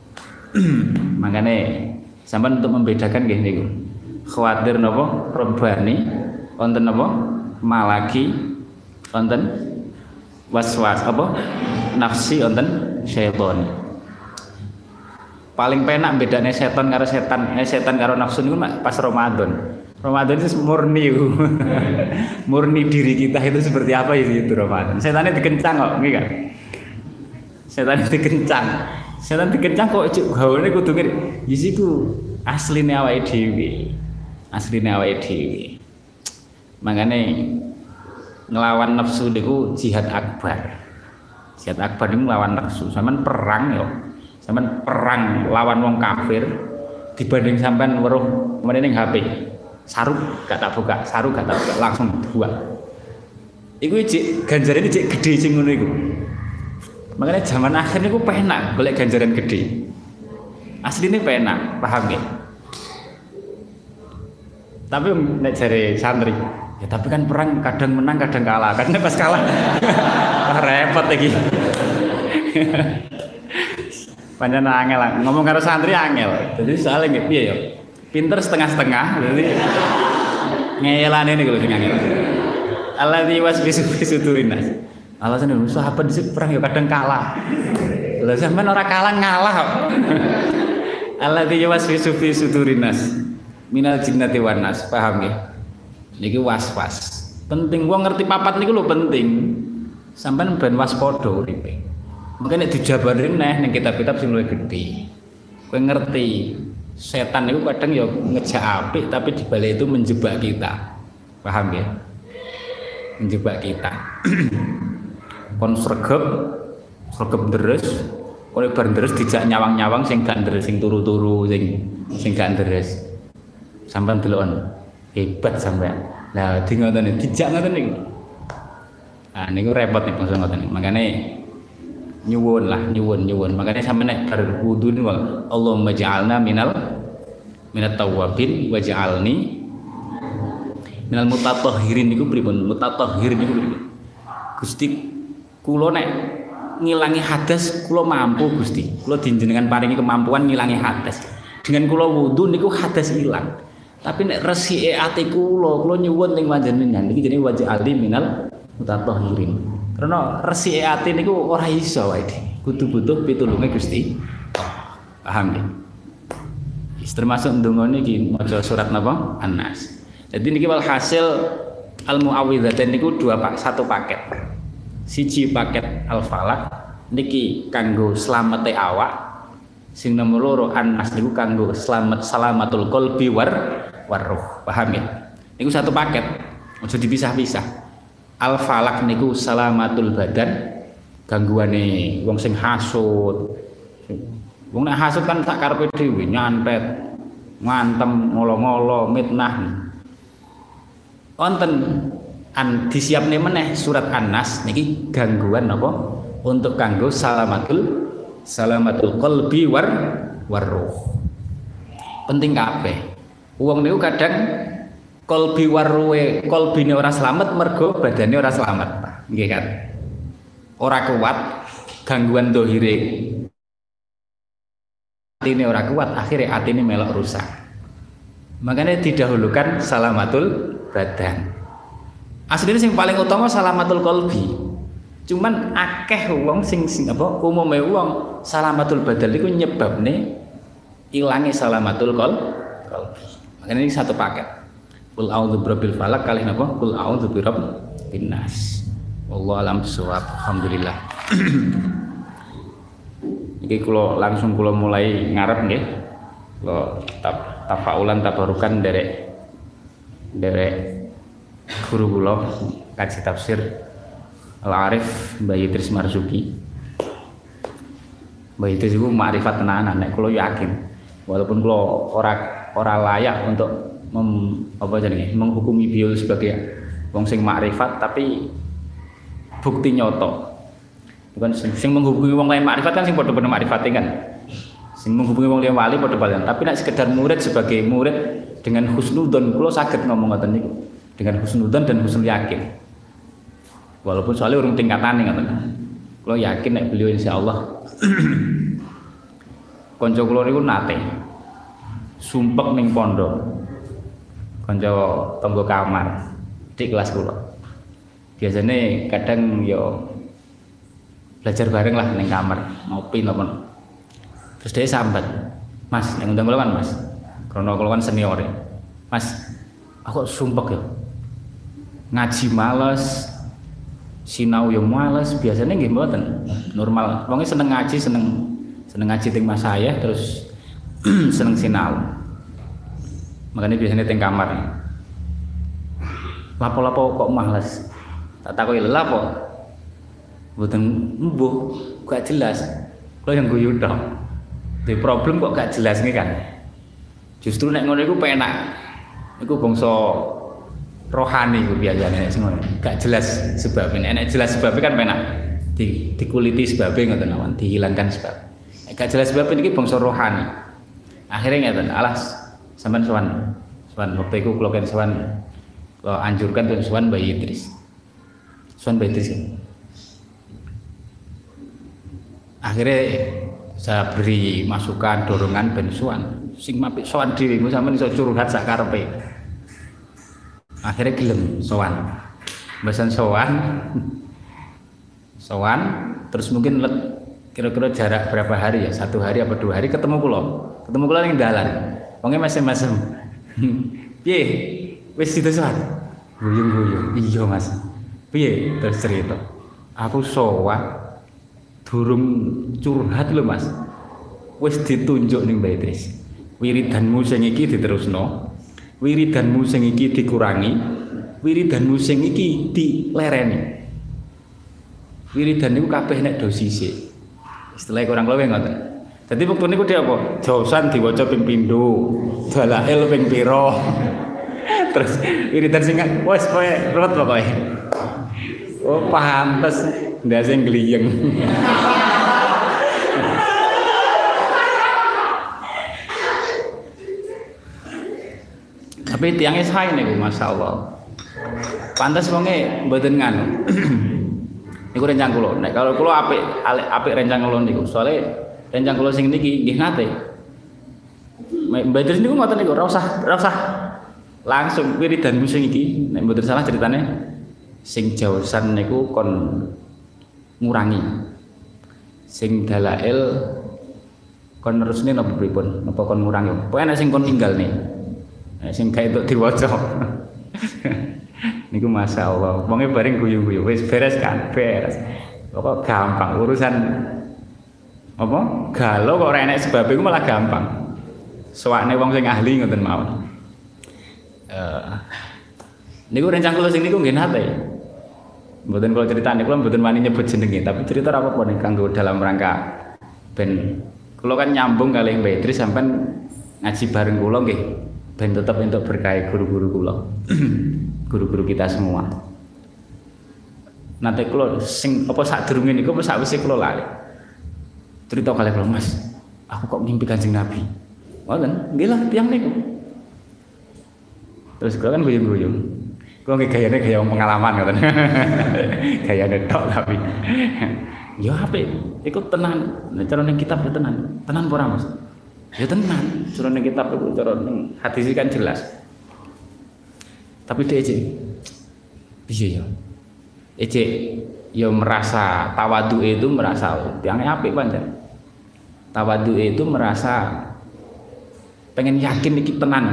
Makane sampean untuk membedakan nggih niku. Khawatir napa? Robani wonten napa? Malaki wonten waswas apa? Nafsi wonten syaitan. Paling penak bedane setan karo setan karo nafsu niku pas Ramadan. Ramadan itu murni murni diri kita itu seperti apa itu Ramadan. Setannya dikencang kok, nggih kan? Setannya dikencang. Setan dikencang kok gawane kudu ngene. Yisiku asline awake dhewe. Asline awake dhewe. Makane ngelawan nafsu niku jihad akbar. Jihad akbar niku nglawan nafsu. Sampeyan perang yo. Sampeyan perang lawan wong kafir dibanding sampean weruh meneh ning HP. Sarung gak tak buka, sarung gak tak buka, langsung dua. Iku cek ganjaran ini cek gede sing ngono iku. Makanya zaman akhir niku penak golek ganjaran gede. Asline penak, paham ya? Tapi nek jare santri, ya tapi kan perang kadang menang kadang kalah. Kadang pas kalah repot iki. Panjang angel lah. Ngomong karo santri angel. Jadi soalnya nggih piye ya? Pinter setengah-setengah. Jadi ngeyelane niku lho sing angel. Alladzi wasbisu fi sudurinas. Alasan lho sahabat dhisik perang ya kadang kalah. Lha sampean ora kalah ngalah kok. Alladzi wasbisu fi sudurinas. Minal jinnati wan nas. Paham nggih? Niki was-was. Penting wong ngerti papat niku lho penting. Sampeyan ben waspada uripe. Mungkin nek dijabarin neh ning kitab-kitab sing luwih gedhe. Kowe ngerti setan itu kadang ya ngejak apik tapi dibalik itu menjebak kita. Paham ya? Menjebak kita. Kon sregep deres, kowe bar deres dijak nyawang-nyawang sing gak deres, sing turu-turu, sing gak deres. Sampeyan delokon hebat sampeyan. Lah di ngoten dijak ngoten niku. Ah niku repot nih bangsa ngoten niku. Makane nyuwun. Makanya sampe nek bar wudu niku Allahumma ja'alna minat tawwabin waj'alni minal mutatahhirin niku pripun? Mutatahhir niku pripun? Gusti kula nek ngilangi hadas kula mampu Gusti. Kula dinjenengan paringi kemampuan ngilangi hadas. Dengan kula wudu niku hadas ilang. Tapi nek resike ati kula nyuwun ning panjenengan niki jenenge waj'alni minal mutatahhirin. Karena resike ati niku ora iso wae. Kudu butuh pitulunge Gusti. Paham nggih? Termasuk ndonga niki maca surat napa? An-Nas. Jadi niki walhasil al-muawwidzatain niku satu paket. Siji paket al-falaq niki kanggo slamete awak. Sing nomor loro An-Nas niku kanggo salamatul qalbi war ruh. Paham ya? Niku satu paket. Aja dipisah-pisah. Al-falaq niku salamatul badan, gangguane wong sing hasud. Wong nek hasud kan sak karepe dhewe nyantet, ngantem, ngolo-ngolo, mitnah. Wonten disiapne meneh surat An-Nas niki gangguan napa? Untuk kanggo salamatul qalbi war ruh. Penting kabeh. Wong niku kadang kolbi warwe, kolbine ora slamet mergo badane ora slamet. Nggih kan. Ora kuat gangguan dohire. Atine ora kuat, akhirnya atine melok rusak. Makanya didahulukan salamatul badan. Aslinya sing paling utama salamatul kolbi. Cuman akeh wong sing apa umume wong salamatul badan iku nyebabne ilange salamatul kolbi. Makanya ini satu paket. Qul a'udzu birabbil falaq kali napa? Qul a'udzu birabbin nas. Wallahu alam bissawab. Alhamdulillah. Iki kula langsung kula mulai ngarep nggih. Kula tafaulan tabarukan derek guru kula kaji tafsir Al-Arif Mbah Idris Marzuki. Mbah Idris iku makrifat tenanan nek kula yakin. Walaupun kula ora layak untuk menghukumi beliau sebagai wong sing makrifat, tapi bukti nyoto. Bukan sing menghubungi wong lain makrifat kan sing padha-padha makrifate kan. Sing menghubungi wong liya wali padha-padha. Tapi nek sekedar murid sebagai murid dengan husnudzon kula saged ngomong ngoten niku. Dengan husnudzon dan husnul yakin. Walaupun soalnya urung tingkatane ngoten. Kula yakin nek beliau insyaallah kanca kula niku nate sumpek ning pondok. Kanca tangga kamar di kelas kula. Biasane kadang yo belajar bareng lah ning kamar, ngopi napa. Terus dia sambat, "Mas, ning undang kula kan, Mas. Karena kula kan senior. Mas, aku sumpek yo. Ngaji males, sinau yo males, biasanya nggih mboten. Normal. Wong seneng ngaji, seneng ngaji teng Mas saya terus seneng sinau. Makanya biasanya teng kamar. Lapo-lapo kok males. Tak takoki lha apa? Mboten mbuh, gak jelas. Kalau yang guyu tok. Di problem kok gak jelas nih kan. Justru nek ngono iku penak. Iku bangsa rohani iku biasane nek sing ngono. Gak jelas sebabnya. Nek jelas sebabnya kan penak. Dikuliti sebabnya ngoten awan, dihilangkan sebab. Nek gak jelas sebabnya iki bangsa rohani. Akhirnya ngeten, alas sampean sowan waktu iku kula kan sowan kula anjurkan untuk sowan Mbah Idris. Sowan Mbah Idris. Akhirnya saya beri masukan dorongan ben sowan sing mapik sowan dhewe engko sampeyan iso curhat sak karepe. Akhirnya gelem sowan. Mboten sowan terus mungkin kira-kira jarak berapa hari ya, 1 hari apa 2 hari ketemu kula ning dalan. Wonge mesem-mesem. Piye? Wis situ sowan. Guyung-guyung. Iya, Mas. Piye? Terus cerita. Aku sowan durung curhat lho Mas. Wis ditunjuk ning Mbah Idris. Wiridanmu sing iki diterusno. Wiridanmu sing iki dikurangi. Wiridanmu sing iki dilereni. Wiridan niku kabeh nek dosise. Istilah kurang luwih ngoten. Dadi wektu niku dia apa? Jausan diwaca ping pindho, dalail ping pira. Terus wiridan sing wis kowe ruwet pokoke. Oh, pantes ndase gliyeng. Tapi tiangnya sae niku masyaallah. Pantes wonge mboten nganu. Niku rencang kula. Nek kalau kula apik rencang kula niku. Soale rencang kula sing niki nggih nate. Mbak Idris niku ngoten niku, ora usah langsung wiridanmu sing iki. Nek mboten salah ceritane sing jausan niku kon ngurangi. Sing dalail kon nerusne napa pripun? Napa kon ngurangi? Pokoke nek sing kon tinggalne. Nek sing gawe entuk diwaca. Niku masyaallah. Wonge bareng guyu-guyu wis beres kan, beres. Pokok gampang urusan apa? Galau kok ora enek sebab iku malah gampang. Sowane wong sing ahli ngoten mawon. Niku rencang kula sing niku nggih nate. Mboten kula critani, kula mboten wani nyebut jenenge, tapi cerita ora apa-apa nek kanggo dalam rangka ben kula kan nyambung kalih Mbak Idris sampean ngaji bareng kula nggih ben tetep entuk berkah guru-guru kula. Guru-guru kita semua. Nanti kula sing apa sadurunge niku apa sakwise kula lali. Cerita kalih kula, Mas, aku kok mimpi Kanjeng Nabi. Ngoten, nggih lah tiyang niku. Terus kula kan guyung-guyung. Kula nggih gayane gaya wong pengalaman ngoten. Gayane tok tapi. Ya apik, iku tenan. Nek cara ning kitab ya tenan. Tenan apa ora, Mas? Ya tenan. Cara ning kitab iku cara ning hadis kan jelas. Tapi dia piye ya? Ya merasa tawadhu itu merasa yang apik pancen. Tawadhu itu merasa pengen yakin iki tenan.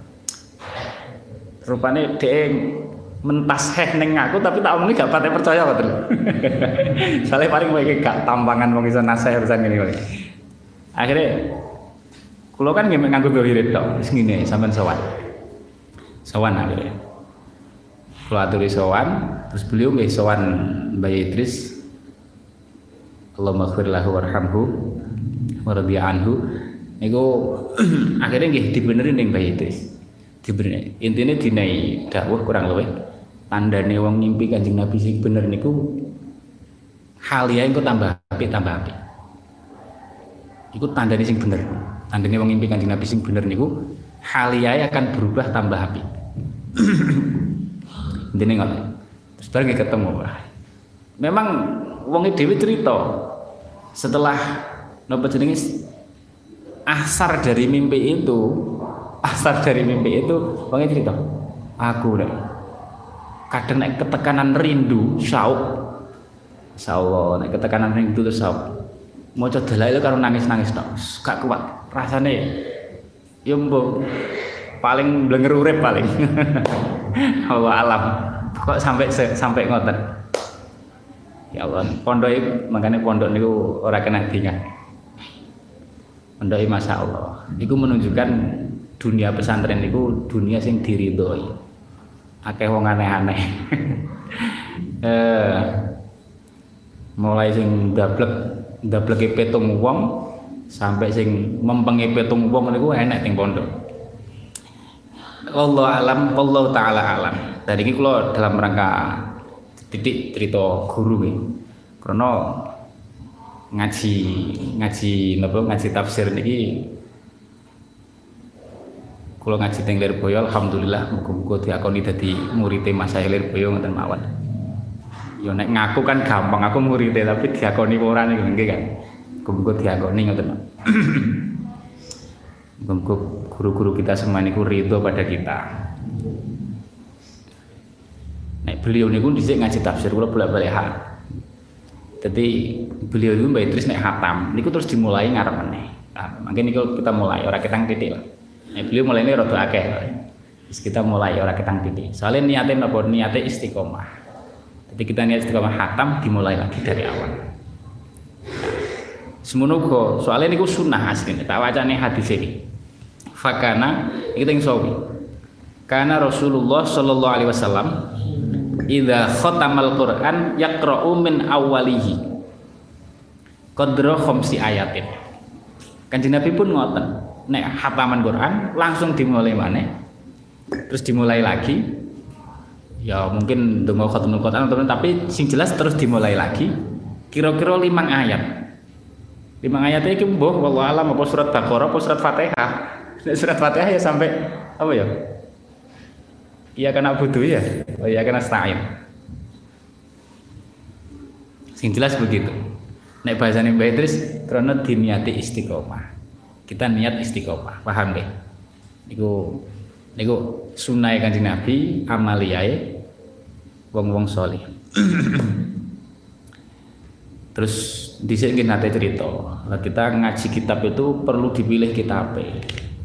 Rupane dia mentasheh ning aku tapi tak omongin gak pati percaya kok. Soale paling kowe gak tampangan wong iso nasih urusan ngene kok. Akhire kula kan nggih nganggo wirid tok, wis ngene sampean sowan. Sowan akhire. Kula aturi sowan, terus beliau nggih sowan Mbah Idris. Allahumma ighfir lahu warhamhu wa radhiya anhu. Niku akhirnya nggih dibenerin ning Mbah Idris. Dibenerin. Intine dinai dawuh kurang luwih tandane wong ngimpi Kanjeng Nabi sing bener niku haliyae engko tambah apik. Iku tandane sing bener. Tandane wong ngimpi Kanjeng Nabi sing bener niku haliyae akan berubah tambah apik. Intine ngoten. Terus bareng ketemu. Memang wong dhewe cerita setelah napa jenenge asar dari mimpi itu wong cerita aku nek kadang nek ketekanan rindu syauq insyaallah nek ketekanan rindu terus syauq maca dalail karo nangis-nangis tok gak kuat rasane ya mbok paling blenger urip paling Allah alam kok sampai ngoten ya Allah pondok makanya pondok niku ora kena dingat pondok masyaallah niku menunjukkan dunia pesantren niku dunia sing diridhoi akeh wong aneh-aneh mulai sing ndableke petung wong sampai sing mempenge petung wong niku enek teng pondok. Allah alam, Allah taala alam. Dari ini kula dalam rangka titik cerita guru nih. Karena ngaji tafsir niki kula ngaji teng Lirboyo alhamdulillah muga-muga diakoni dadi murite Mas Lirboyo ngoten mawon. Ya nek ngaku kan gampang aku murite tapi diakoni ora niku nggih kan. Muga-muga diakoni ngoten. Muga-muga guru-guru kita semua niku ridho pada kita. Nek beliau niku dhisik ngaji tafsir kula bolak-balik hak. Dadi beliau itu Mbak Idris nek khatam niku terus dimulai ngarep meneh. Nah, mungkin niku kita mulai ora ketang titik lah. Nek beliau mulai ini rada akeh. Terus kita mulai ora ketang titik. Soalnya niatnya napa? Niatnya istiqomah. Jadi kita niat istiqomah khatam dimulai lagi dari awal. Semono kok soalnya niku sunnah asline tak wacane hadis ini. Fakana kita yang sawi. Karena Rasulullah sallallahu alaihi wasallam idza khatamal Quran yaqra'u min awwalihi qadra khamsi ayatin. Kanjeng Nabi pun ngoten. Nek khataman Quran langsung dimulai maneh. Terus dimulai lagi. Ya mungkin donga khatamul Quran tapi sing jelas terus dimulai lagi. Kira-kira 5 ayat. 5 ayat iki mbuh wallahu alam apa surat Baqarah apa surat Fatihah. Surat Fatihah ya sampai apa ya? Iya kena butuh ya. Oh iya kena stain. Sing jelas begitu. Nek bahasane Mbak Idris karena diniati istiqomah. Kita niat istiqomah, paham deh? Niku sunah Kanjeng Nabi, amaliyae wong-wong saleh. Terus dhisik nggih nate cerita, kita ngaji kitab itu perlu dipilih kitabnya.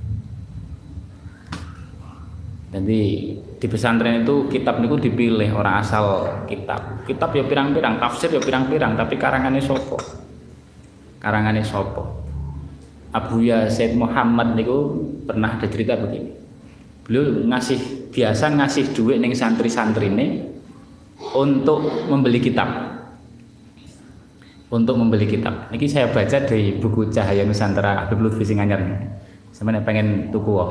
Jadi di pesantren itu kitab niku dipilih orang asal kitab. Kitab ya pirang-pirang, tafsir ya pirang-pirang, tapi karangane sapa? Karangane sapa? Abuya Said Muhammad niku pernah ada cerita begini. Beliau biasa ngasih duit ning santri-santrine untuk membeli kitab. Untuk membeli kitab. Niki saya baca dari buku Cahaya Nusantara Habib Lutfi sing anyar. Sampeyan pengen tuku wae.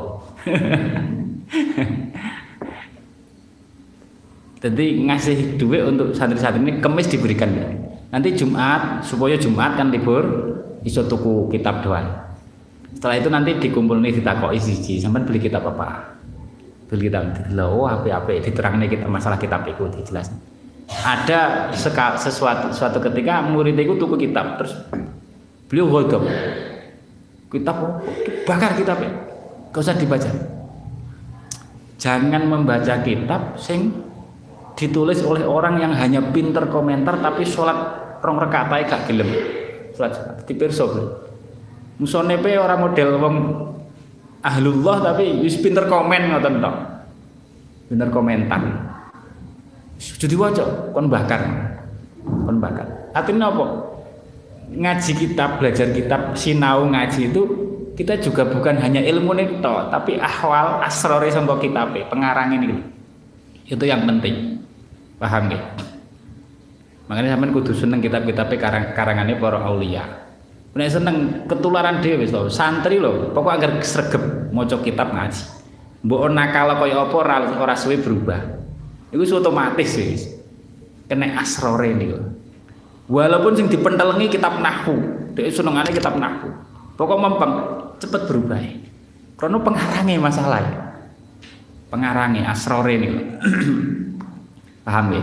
Jadi ngasih duit untuk santri-santri ini kemis diberikan. Nanti Jumat supaya Jumat kan libur iso tuku kitab doang. Setelah itu nanti dikumpul nih ditakoki siji, sampean beli kitab apa? Bil kitab didelok apik-apik diterangne kita masalah kitab iku dijelas. Ada suatu ketika murid itu tuku kitab terus beliau ghadab. Kitab bakar kitabnya. Gak usah dibaca. Jangan membaca kitab sing ditulis oleh orang yang hanya pinter komentar tapi sholat rong rakaat ae gak gelem. Sholat dipirsa. Musone pe ora model wong ahlullah tapi wis pinter komen ngoten tok. Pinter komentar. Jadi waca kon bakar. Kon bakar. Artinya apa? Ngaji kitab, belajar kitab, sinau ngaji itu kita juga bukan hanya ilmu nih tok, tapi ahwal asrori sangka kitabe, pengarang ini. Itu yang penting. Paham nggih? Makanya sampean kudu seneng kitab-kitabe karangane para aulia. Nek seneng ketularan dhewe wis lho, santri lho, pokok agar sregep maca kitab ngaji. Mbok nakal kaya apa ora suwe berubah. Iku otomatis wis. Kena asrore niku. Walaupun sing dipentelengi kitab nahwu, dhek senengane kitab nahwu. Pokok mempeng cepet berubah. Karena pengarangnya masalah. Pengarangnya asrore niku. Paham ya?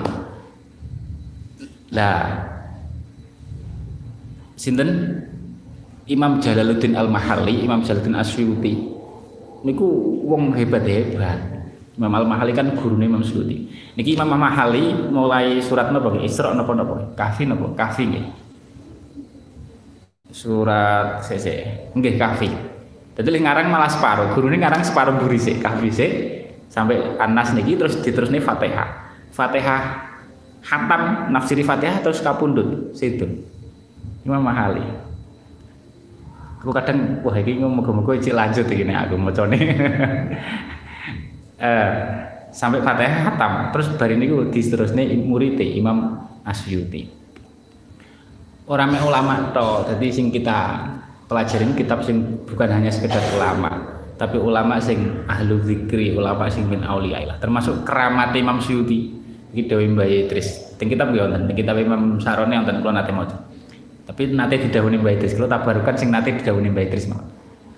Lah sinten Imam Jalaluddin Al-Mahalli, Imam Jalaluddin Asyuyuti niku wong hebat-hebat. Imam Al-Mahalli kan gurune Imam Suyuti. Niki Imam Al-Mahalli mulai surat napa nggih? Isra napa? Kahfi napa? Kahfi nggih. Surat nggih Kahfi. Dadi ngarang malah separo, gurune ngarang separo mburi sik, Kahfi sik sampai Anas niki terus diterusne Fatihah. Fatihah hatam nafsiri Fatihah terus kapundhut sidun. Imam Al-Mahalli. Aku kadang wah iki moga-moga iki lanjut iki nek aku macane. Sampai Fatihah hatam terus bari niku diterusne murid Imam Asyuyuti. Ora mek ulama to, dadi sing kita pelajarin kitab sing bukan hanya sekedar ulama, tapi ulama sing ahlu zikri, ulama sing min auliya lah. Termasuk keramat Imam Suyuti iki dawuh Mbah Idris. Teng kitab yo wonten, teng kitab Imam Sarone wonten kula nate maca. Tapi nate didhawuhi Mbah Idris, kula tabarukan sing nate didhawuhi Mbah Idris mawon.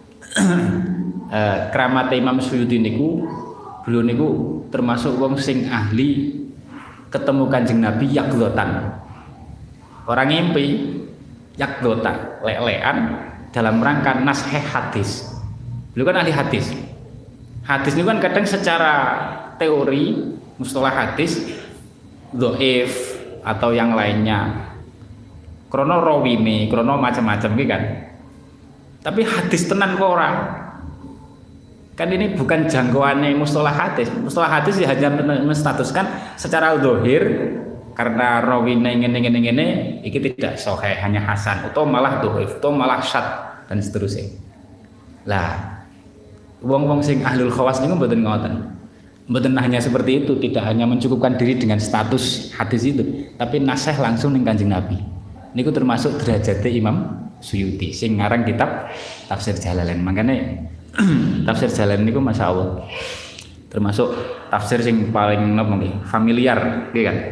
Keramat Imam Suyuti niku beliau niku termasuk wong sing ahli ketemu Kanjeng Nabi yakdotan. Orang ngimpi yakdotan, lelean dalam rangka nasheh hadis. Beliau kan ahli hadis. Hadis ini kan kadang secara teori mustalah hadis dhaif atau yang lainnya. Krono rawine, krono macam-macam gitu kan. Tapi hadis tenan kok ora. Kan ini bukan jangkauannya mustalah hadis. Mustalah hadis ya hanya menstatuskan secara zahir karena rawine ngene iki tidak sahih, hanya hasan atau malah dhaif atau malah syadz dan seterusnya. Lah wong-wong sing ahlul khawas niku mboten ngoten. Mboten hanya seperti itu, tidak hanya mencukupkan diri dengan status hadis itu, tapi nasih langsung ning Kanjeng Nabi. Niku termasuk derajate Imam Suyuti sing ngarang kitab Tafsir Jalalain. Makanya tafsir Jalalain niku masyaallah termasuk tafsir sing paling napa nggih familiar nggih kan.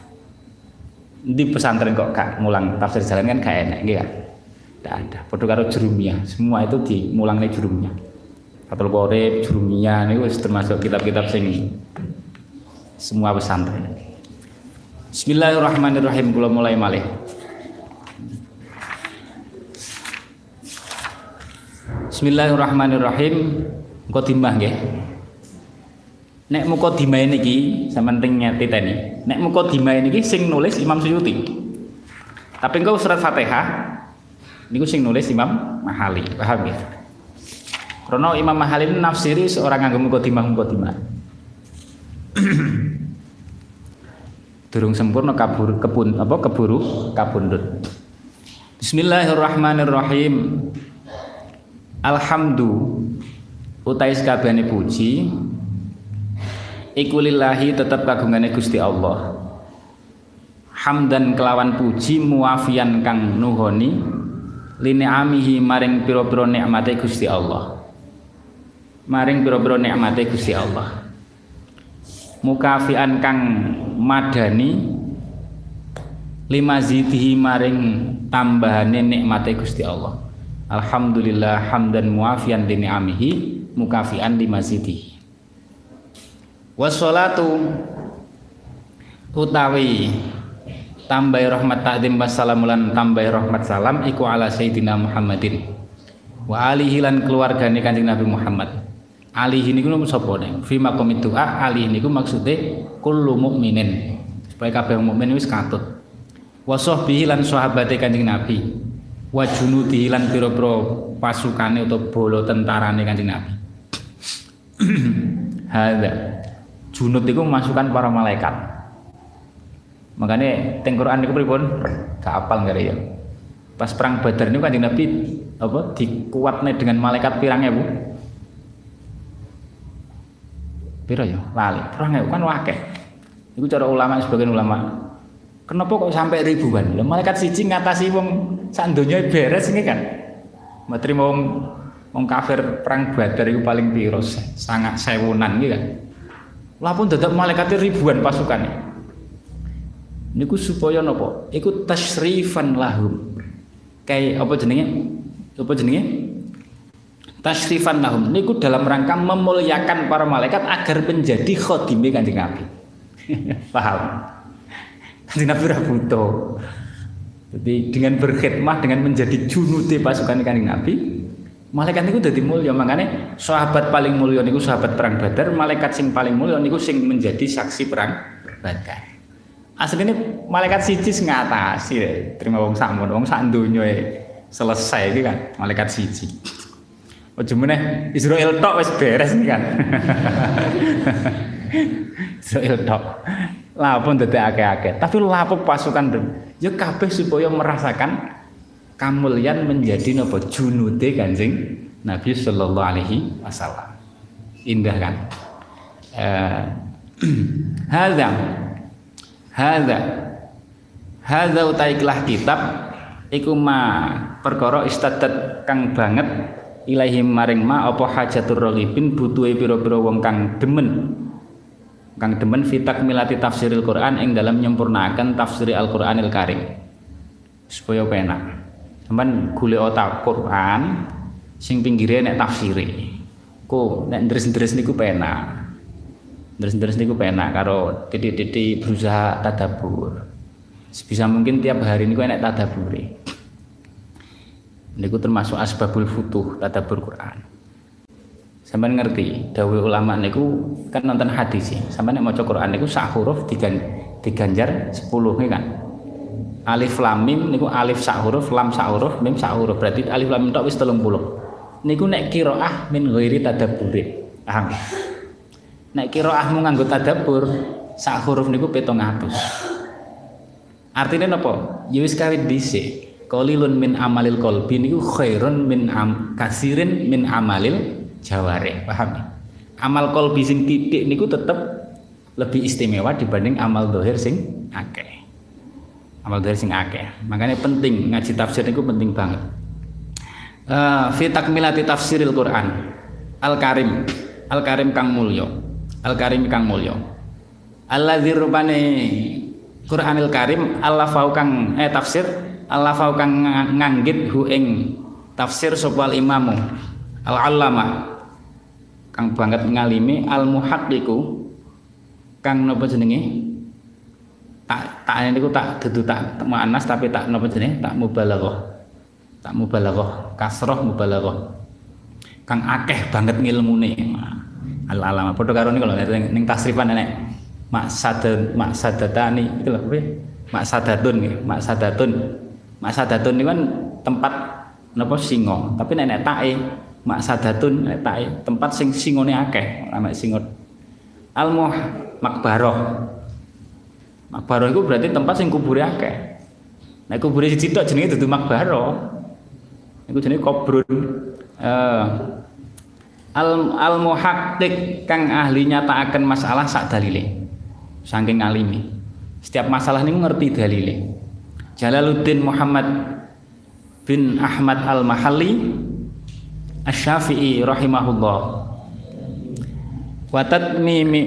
Di pesantren kok gak mulang tafsir Jalalain kan gak enak nggih kan. Tidak ada. Padha karo Jurumiyah, semua itu dimulangne Jurumiyah. Fathul Qorib, Jurumiyah niku termasuk kitab-kitab sing semua pesantren. Bismillahirrahmanirrahim, kula mulai malih. Bismillahirrahmanirrahim. Mukadimah nggih. Nek mukadimah niki sampeyan teng nyatiteni. Nek mukadimah niki sing nulis Imam Suyuti. Tapi engko surat Fatihah niku sing nulis Imam Mahalli. Paham ya? Karena Imam Mahalli nafsiri seorang nganggo mukadimah. Durung sempurna keburu kabundut. Bismillahirrahmanirrahim. Alhamdu utai sakabehane puji iku lillahi tetep kagungane Gusti Allah. Hamdan kelawan puji muafian kang nuhoni lini'amihi maring pira-pira nikmate Gusti Allah. Maring pira-pira nikmate Gusti Allah. Mukafian kang madani limazidihi maring tambahane nikmate Gusti Allah. Alhamdulillah hamdan muafian li ni'amihi mukafian li mazidihi. Wassalatu utawi tambahi rahmat takdim wassalamu lan tambahi rahmat salam iku ala sayyidina Muhammadin wa alihi lan keluargane Kanjeng Nabi Muhammad. Alihi niku sapa nek fi maqam doa alihi niku maksude kullu mukminin supaya kabeh mukmin wis katut. Wa sahbihi lan sahabate Kanjeng Nabi wa junudihi lan pira-pira pasukane utawa bala tentarane Kanjeng Nabi. Hadza junud iku masukan para malaikat. Makanya teng Quran niku pripun? Gak apal gak ya. Pas perang Badar niku Kanjeng Nabi apa dikuatne dengan malaikat pirang ewu? Pira ya? Lali. Pirang ewu kan akeh. Iku cara ulama sebagian ulama. Kenapa kok sampai ribuan? Lah malaikat siji ngatasi wong sak donya beres iki kan. Matri wong kafir perang Badar iku paling piro? Sangat sewunan iki kan. Lah pun dadak malaikate ribuan pasukane. Niku supaya napa? Iku tasyrifan lahum. Kayak apa jenenge? Apa jenenge? Tasyrifan lahum. Niku dalam rangka memuliakan para malaikat agar menjadi khadime Kanjeng Nabi. Paham? Kanjeng Nabi ora butuh. Jadi dengan berkhidmah dengan menjadi junude pasukan Kanjeng Nabi, malaikat niku dadi mulya. Makane sahabat paling mulya niku sahabat perang Badar, malaikat sing paling mulya niku sing menjadi saksi perang Badar. Asline malaikat siji sing ngatasi terima wong sakmono, wong sak donya selesai iki kan malaikat siji. Ojo meneh Israil tok wis beres iki kan. Israil tok. Lapun dadi akeh-akeh, tapi lapuk pasukan ya kabeh supaya merasakan kamulian menjadi napa junude Kanjeng Nabi sallallahu alaihi wasallam. Indah kan? Hadza utaiklah kitab iku ma perkara istadat kang banget ilahi maring ma apa hajatur raghibin butuhe pira-pira wong kang demen fi takmilati tafsiril Quran ing dalam nyempurnakan tafsir Al-Qur'anil Karim supaya penak. Sampeyan golek otak Quran sing pinggire nek tafsire. Ku nek ndres-ndres niku penak. Ndres-ndres niku penak karo titik-titik berusaha tadabbur. Sebisa mungkin tiap hari niku enek tadabbure. Niku termasuk asbabul futuh tadabbur Quran. Sampeyan ngerti dawuh ulama niku kan nonton hadis ya. Sampeyan nek maca Quran niku sak huruf diganjar 10 kan. Alif lam mim niku alif sak huruf, lam sak huruf, mim sak huruf. Berarti alif lam mim tok wis 30. Niku nek qiraah min ghairi tadabbur. Paham? Nek qiraahmu nganggo tadabbur sak huruf niku 700. Artinya napa? Ya wis kawit dhisik. Qalilun min amalil qalbi niku khairun min kasirin min amalil jawari. Paham? Amal qalbi sing titik niku tetep lebih istimewa dibanding amal zahir sing akeh. Amal zahir sing akeh. Makanya penting ngaji tafsir niku penting banget. Fi takmilati tafsiril Quran. Al-Karim. Al-Karim kang mulya. Al-Karim kang mulya. Alladzi rupane Quranil Karim Allah fau kang tafsir Allah fau kang nganggit hu ing tafsir sapa imamu al-allama kang banget ngalimi al-muhaqqiqu kang napa jenenge tak niku tak dudu tak muannas tapi tak napa jenenge tak mubalaghah kasrah mubalaghah kang akeh banget ngilmune al-alama padha karo niku lho ning tasrifan enek maksadatani itu lho piye maksadatun niku kan tempat napa singa tapi nek tae maksadatun nek tae tempat sing singone akeh ana singot makbarah iku berarti tempat sing kubure akeh nek kubure siji tok jenenge dudu makbarah iku jenenge kubrun al-muhaqqiq kang ahli nyatakaken masalah sak dalile saking alimi setiap masalah niku ngerti dalile. Jalaluddin Muhammad bin Ahmad Al-Mahalli Asy-Syafi'i rahimahullah watat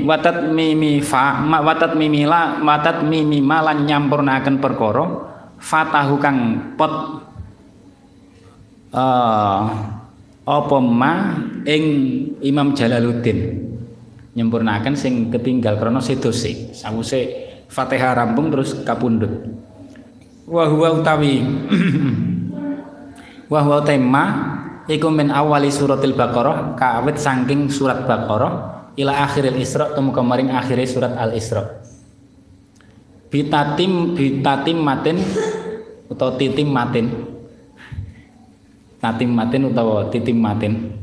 mimi malan nyampurnaken perkara fatahu kang pot apa ma ing Imam Jalaluddin nyempurnakan sing ketinggal krana sedose. Sawise Fatihah rampung terus kapundhut. Wa huwa utawi wa huwa tema iku min awali suratil Baqarah kawit saking surat Baqarah ila akhiril Isra tumeka maring akhire surat Al Isra. Bitatim matin utawa titim matin. Tatim matin utawa titim matin.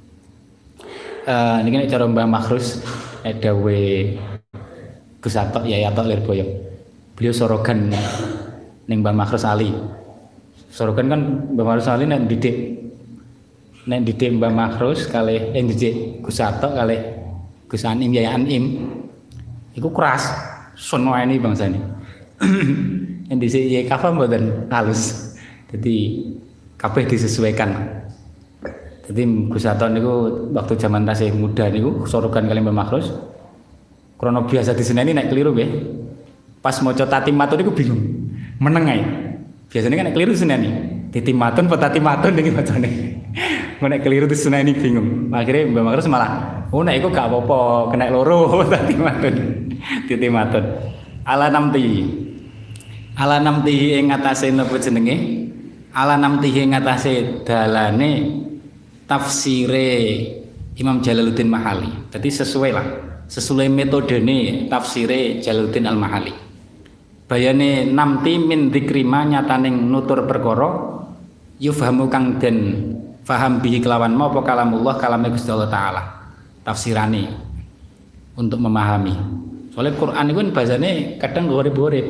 Niki nek cara Mbah Makhrus dawuh Gus Atok Yayatok Lirboyo. Beliau sorogan ning Mbah Makhrus Ali. Sorogan kan Mbah Makhrus Ali nek didik Mbah Makhrus kalih didik Gus Atok kalih Gus Anim Yaya Anim. Iku keras, sono ini bangsane. Yang dhisik ya kafa mboten halus. Jadi kabeh disesuaikan. Jadi Gus Atok niku waktu zaman tasih muda niku sorogan kalih Mbah Makhrus. Krono biasa diseneni nek keliru nggih. Pas maca tatimatun niku bingung. Meneng ae. Biasanya kan nek keliru diseneni. Titimatun apa tatimatun niki bacane. Nek keliru diseneni bingung. Akhirnya Mbah Makhrus malah, "Oh nek iku gak apa-apa, kena loro tatimatun." Titimatun. Ala namti ing atase napa jenenge? Ala namti ing atase dalane tafsire Imam Jalaluddin Mahali. Jadi sesuai metodene tafsire Jalaluddin Al-Mahali. Bayane namti min dzikrima nyataning nutur perkara yufhamu kang den faham bihi kelawan apa kalamullah kalame Gusti Allah taala. Tafsirane untuk memahami. Soalnya Quran itu kan bahasane kadang gorep-gorep.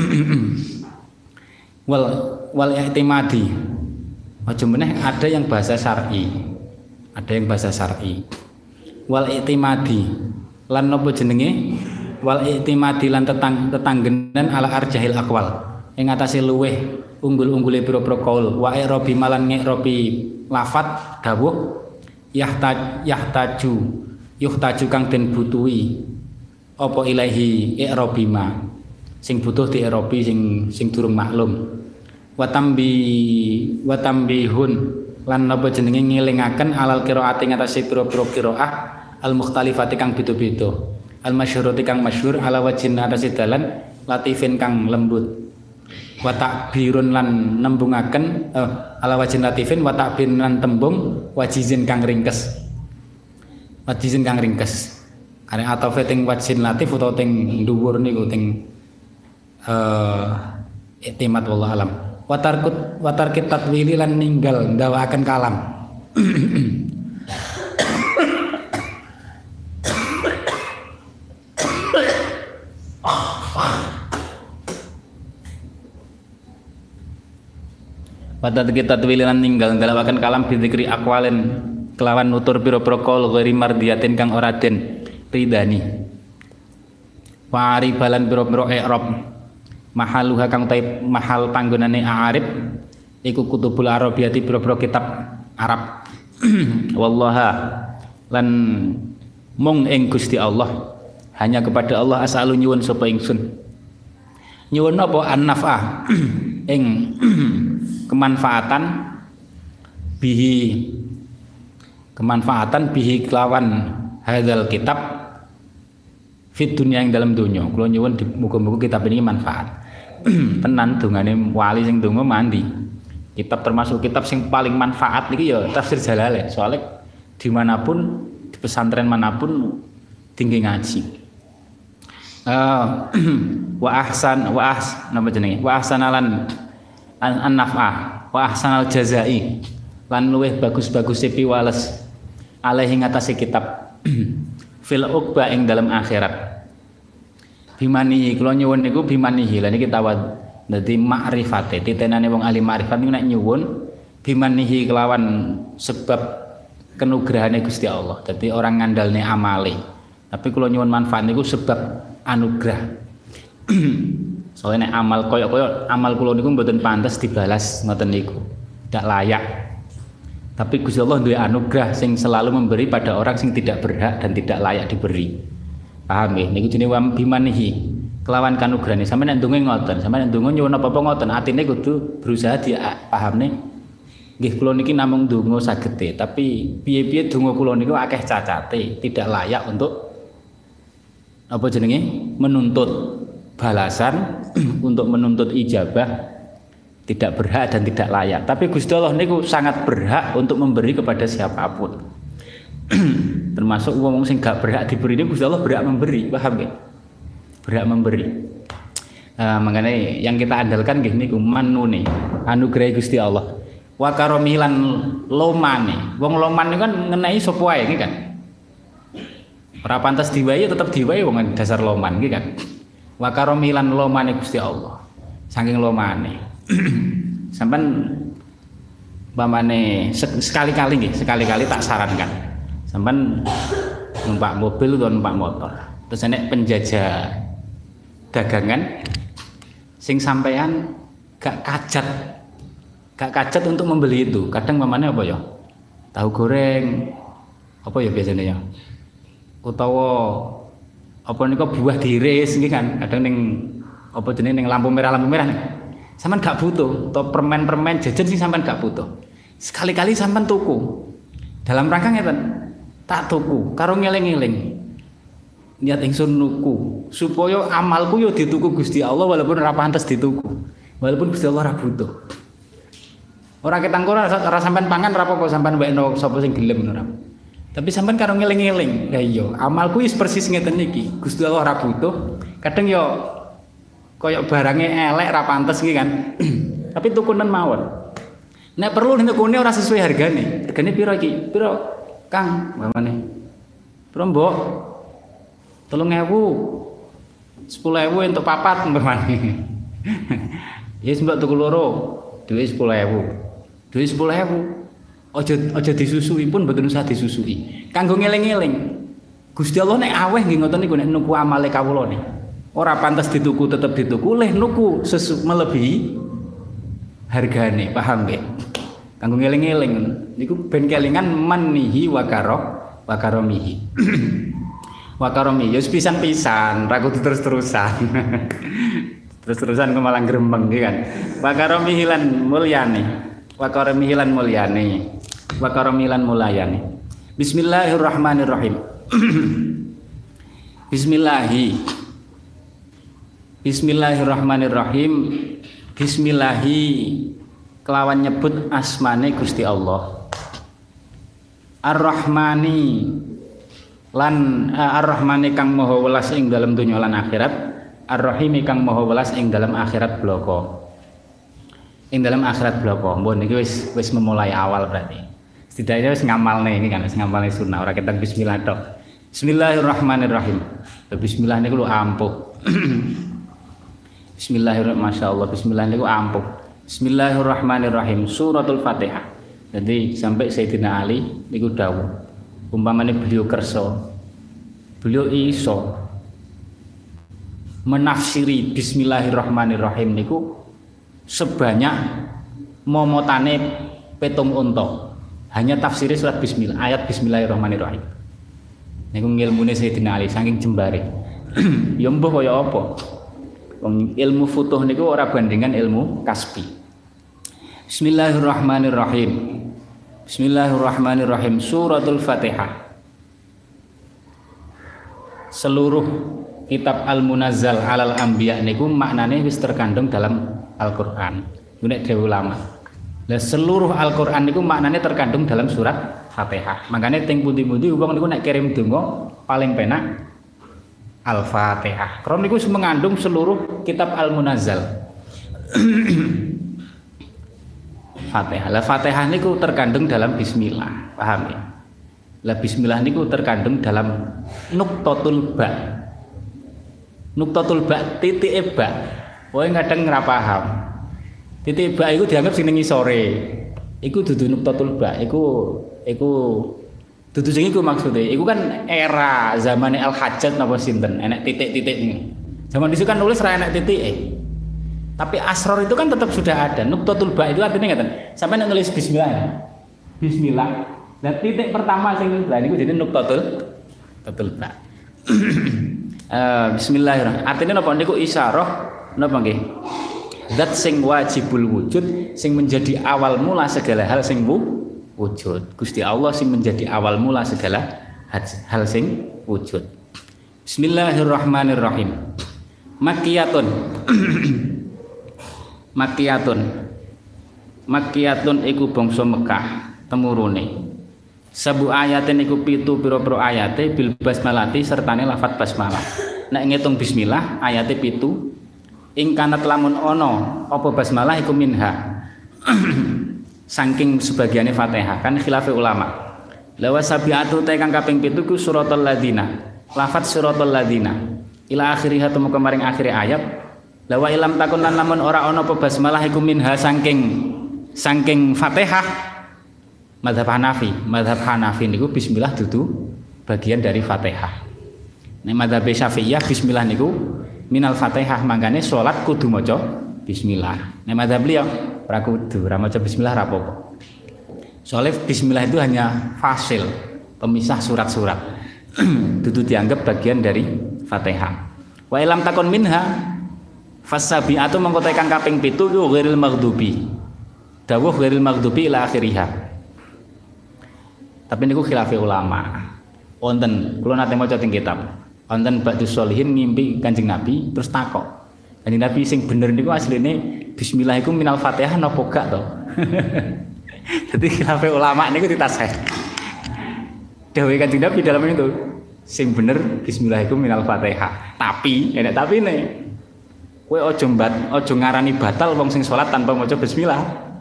wal i'timadi. Aja meneh ada yang bahasa syar'i. Ada yang bahasa syar'i. Wal i'timadi. Lan napa jenenge? Wal i'timadi lan tetanggenan ala arjahil aqwal. Ing atase luweh unggul-unggule pira-pira qaul wa i'rabi malan ng'i'rabi lafat dawuh yuhtaju kang den butuhi apa ilahi i'rabi ma sing butuh di i'rabi sing durung maklum wa tambihun lan napa jenenge ngelingaken alal qiraati ngatasi pira-pira qiraah al mukhtalifati kang beda-beda al masyhurati kang masyhur ala wajhin atase dalan latifin kang lembut wa takbirun lan nembungaken ala wajhin latifin wa takbirun lan tembung wajizin kang ringkes karena atau ting wajhin latif utawa ting dhuwur niku ting i'timad wallahu alam wa tarkit tatwili lan ninggal ndawaaken kalam. Pada kita tulilan ninggal ndalawaken kalam bidzikri aqwalin kelawan nutur pira-pira qaul ghairi mardiyatin kang ora den ridani. Wa aribalan pira-pira i'rab mahaluha kang taib mahal panggonane a'arib iku kutubul arabiyati pira-pira kitab Arab. Wallaha lan mung ing Gusti Allah hanya kepada Allah asalu nyuwun sapa ingsun. Nyuwun apa an-naf'ah ing kemanfaatan bihi kelawan hadzal kitab fit dunia yang dalam dunia. Kula nyuwun muga-muga kitab ini manfaat. Tenan dongane wali sing donga mandi. Kitab termasuk kitab sing paling manfaat niki ya tafsir Jalalain. Soalnya dimanapun di pesantren manapun tinggi ngaji. Wa ahsanalan an-naf'ah wa ahsanal jazai lan luweh bagus-bagus piwales alaihi ngatasi kitab fil uqba ing dalam akhirat. Bimanihi kula nyuwun niku bimanihi lan iki tawad dadi makrifate titenane wong ahli makrifat niku nek nyuwun bimanihi kelawan sebab kenugrahane Gusti Allah. Dadi orang ngandalne amale. Tapi kula nyuwun manfaat niku sebab anugerah. Soalnya nek amal koyo amal kula niku mboten pantes dibalas ngoten niku. Tidak layak. Tapi Gusti Allah duwe anugerah sing selalu memberi pada orang sing tidak berhak dan tidak layak diberi. Paham nggih? Niku jenenge bimanihi. Kelawan kanugrahane sampeyan nek ndonga ngoten, sampeyan nek ndonga nyuwun apa-apa ngoten, atine kudu berusaha dipahamne. Nggih kula niki namung ndonga sagete, tapi piye-piye donga kula niku akeh cacate, tidak layak untuk apa jenenge menuntut balasan untuk menuntut ijabah tidak berhak dan tidak layak. Tapi Gusti Allah niku sangat berhak untuk memberi kepada siapapun. Termasuk wong sing gak berhak diberi ini Gusti Allah berhak memberi, paham ya? Berhak memberi. Makanya yang kita andalkan nggih niku manune anugerah Gusti Allah. Wa karomilan lomane. Wong loman niku kan ngenai sapa wae iki kan. Ora pantes diwai tetep diwai wong dasar loman iki kan. Wa karomilan lomane Gusti Allah. Saking lomane. Sampeyan pamane sekali-kali nggih, sekali-kali tak sarankan. Sampeyan numpak mobil atau numpak motor. Terus nek penjajah dagangan sing sampean gak kajat untuk membeli itu. Kadang pamane apa ya? Tahu goreng apa ya biasanya ya? Utawa apa niku buah diiris nggih kan kadang ning apa jenenge ning lampu merah nih. Sampeyan gak butuh atau permen jajan sing sampeyan gak butuh. Sekali-kali sampeyan tuku. Dalam rangka ngeten, tak tuku karo ngeling-eling. Niat ingsun nuku supaya amalku yo dituku Gusti Allah walaupun ora pantes dituku. Walaupun Gusti Allah ora butuh. Ora ketangkur ora sampeyan pangan ora apa-apa sampeyan wekno sapa sing gelem ora. Tapi sampean karo ngeling-eling, lah iya, amalku wis persis ngeten iki. Gusti Allah ora butuh. Kadang yo koyo barange elek ra pantes iki kan. Tapi tukunen mawon. Nek perlu tukune ora sesuai hargane. Regane piro iki? Piro, Kang? Mamane. Piro, Mbok? 3.000. 10.000 entuk papat mamane. Yes, Mbok tuku loro. Duwe 10.000. Duwe 10.000. Aja disusui pun mboten usah disusui. Kanggo ngeling-eling. Gusti Allah nek aweh nggih ngoten niku nek nuku amale kawula nih. Ora pantes dituku tetep dituku, leh nuku melebihi hargane, paham nggih? Kanggo ngeling-eling niku ben kelingan manihi wa karomihi. Wa karomi ya pisan-pisan, ra kudu terus-terusan. Terus-terusan kok malah gremeng nggih kan. Wa karomihi lan mulyane. Wa karomihi lan mulyane. Wa karomilan mulayani. Bismillahirrahmanirrahim. Bismillahirrahmanirrahim. Bismillahi kelawan nyebut asmane Gusti Allah. Ar-Rahmani lan Ar-Rahmani kang maha welas ing dalam dunya lan akhirat. Ar-Rahimi kang maha welas ing dalam akhirat bloko. Ing dalam akhirat bloko. Mbon iki wis memulai awal berarti. Setidaknya wis ngamalne iki kan, wis ngamalne sunah ora ketek bismillah tok. Bismillahirrahmanirrahim. Bismillah niku lho ampuh. Bismillahirrahmanirrahim. Masyaallah bismillah niku ampuh. Bismillahirrahmanirrahim. Suratul Fatihah. Jadi sampai Sayyidina Ali niku dawuh. Umpamane beliau kersa, beliau iso menafsiri bismillahirrahmanirrahim niku sebanyak momotane petung unta. Hanya tafsiri surat bismillah, ayat bismillahirrahmanirrahim. Niku ngilmune Sayyidina Ali saking jembare. Ya mbah kaya apa? Wong ilmu futuh niku ora bandingan ilmu kasbi. Bismillahirrahmanirrahim. Bismillahirrahmanirrahim. Suratul Fatihah. Seluruh kitab Al-Munazzal 'alal Anbiya niku maknane wis terkandung dalam Al-Qur'an. Nek dhewe ulama. Lah seluruh Al-Qur'an niku maknane terkandung dalam surat Fatihah. Makanya teng pundi-pundi wong niku nek kirim donga paling penak Al-Fatihah. Karena niku mengandung seluruh kitab Al-Munazzal. Fatihah. Lah Fatihah niku terkandung dalam bismillah. Paham ya? Lah bismillah niku terkandung dalam nuqtatul ba. Nuqtatul ba titik ba. Kowe kadang ora paham. Titik ba iku dianggap sing ning ngisore. Iku dudu nuqtatul ba. Iku dudu sing iku maksude. Iku kan era zamane Al-Hajjaj napa sinten, enek titik-titik niku. Zaman disitu kan nulis ra enek titike. Tapi asror itu kan tetap sudah ada. Nuqtatul ba itu artinya ngeten. Sampai nulis bismillah. Bismillah. Dan titik pertama sing lha niku jadi nuqtatul ba. Bismillahirrahmanirrahim. Artinya napa niku isyarah napa nggih? Zat sing wajibul wujud sing menjadi awal mula segala hal sing wujud. Gusti Allah sing menjadi awal mula segala hal sing wujud. Bismillahirrahmanirrahim. Makkiyatun. Makkiyatun iku bangsa Mekah temurune. Sabu ayatin iku 7 pira-pira ayate bil basmalati sertane lafat basmalah. Nek ngitung bismillah ayate 7. Ing kanat lamun ana apa basmalah iku minha. Saking sebagiane Fatihah kan khilafe ulama. Lawa sabiatu ta kang kaping 7 ku suratul ladina. Lafat suratul ladina. Ila akhirih temu kemaring akhir ayat. Lawa ilam takun lan lamun ora ana apa basmalah iku minha saking Fatihah. Mazhab Hanafi niku bismillah dudu bagian dari Fatihah. Nek mazhab Syafi'iyah bismillah niku minal Fatihah, mangkane salat kudu maca bismillah. Nek mazhab beliau ora kudu, ora maca bismillah ora apa-apa. Soalnya bismillah itu hanya fasil, pemisah surat-surat. Dudu dianggap bagian dari Fatihah. Wa ilam takun minha fasabi'atu mengko tekan kaping 7 ku ghairil maghdubi. Dawuh ghairil maghdubi ila akhirih. Tapi niku khilafi ulama. Wonten kula nate maca teng kitab. Wonten ba'dus sholihin ngimpi Kanjeng Nabi terus takok. Kanjeng Nabi sing bener niku asline bismillah iku minal Fatihah napa gak to? Jadi khilafi ulama niku ditasih. Dawuh Kanjeng Nabi dalam itu sing bener bismillah iku minal Fatihah. Tapi enek tapine. Kowe aja ngarani batal wong sing salat tanpa maca bismillah.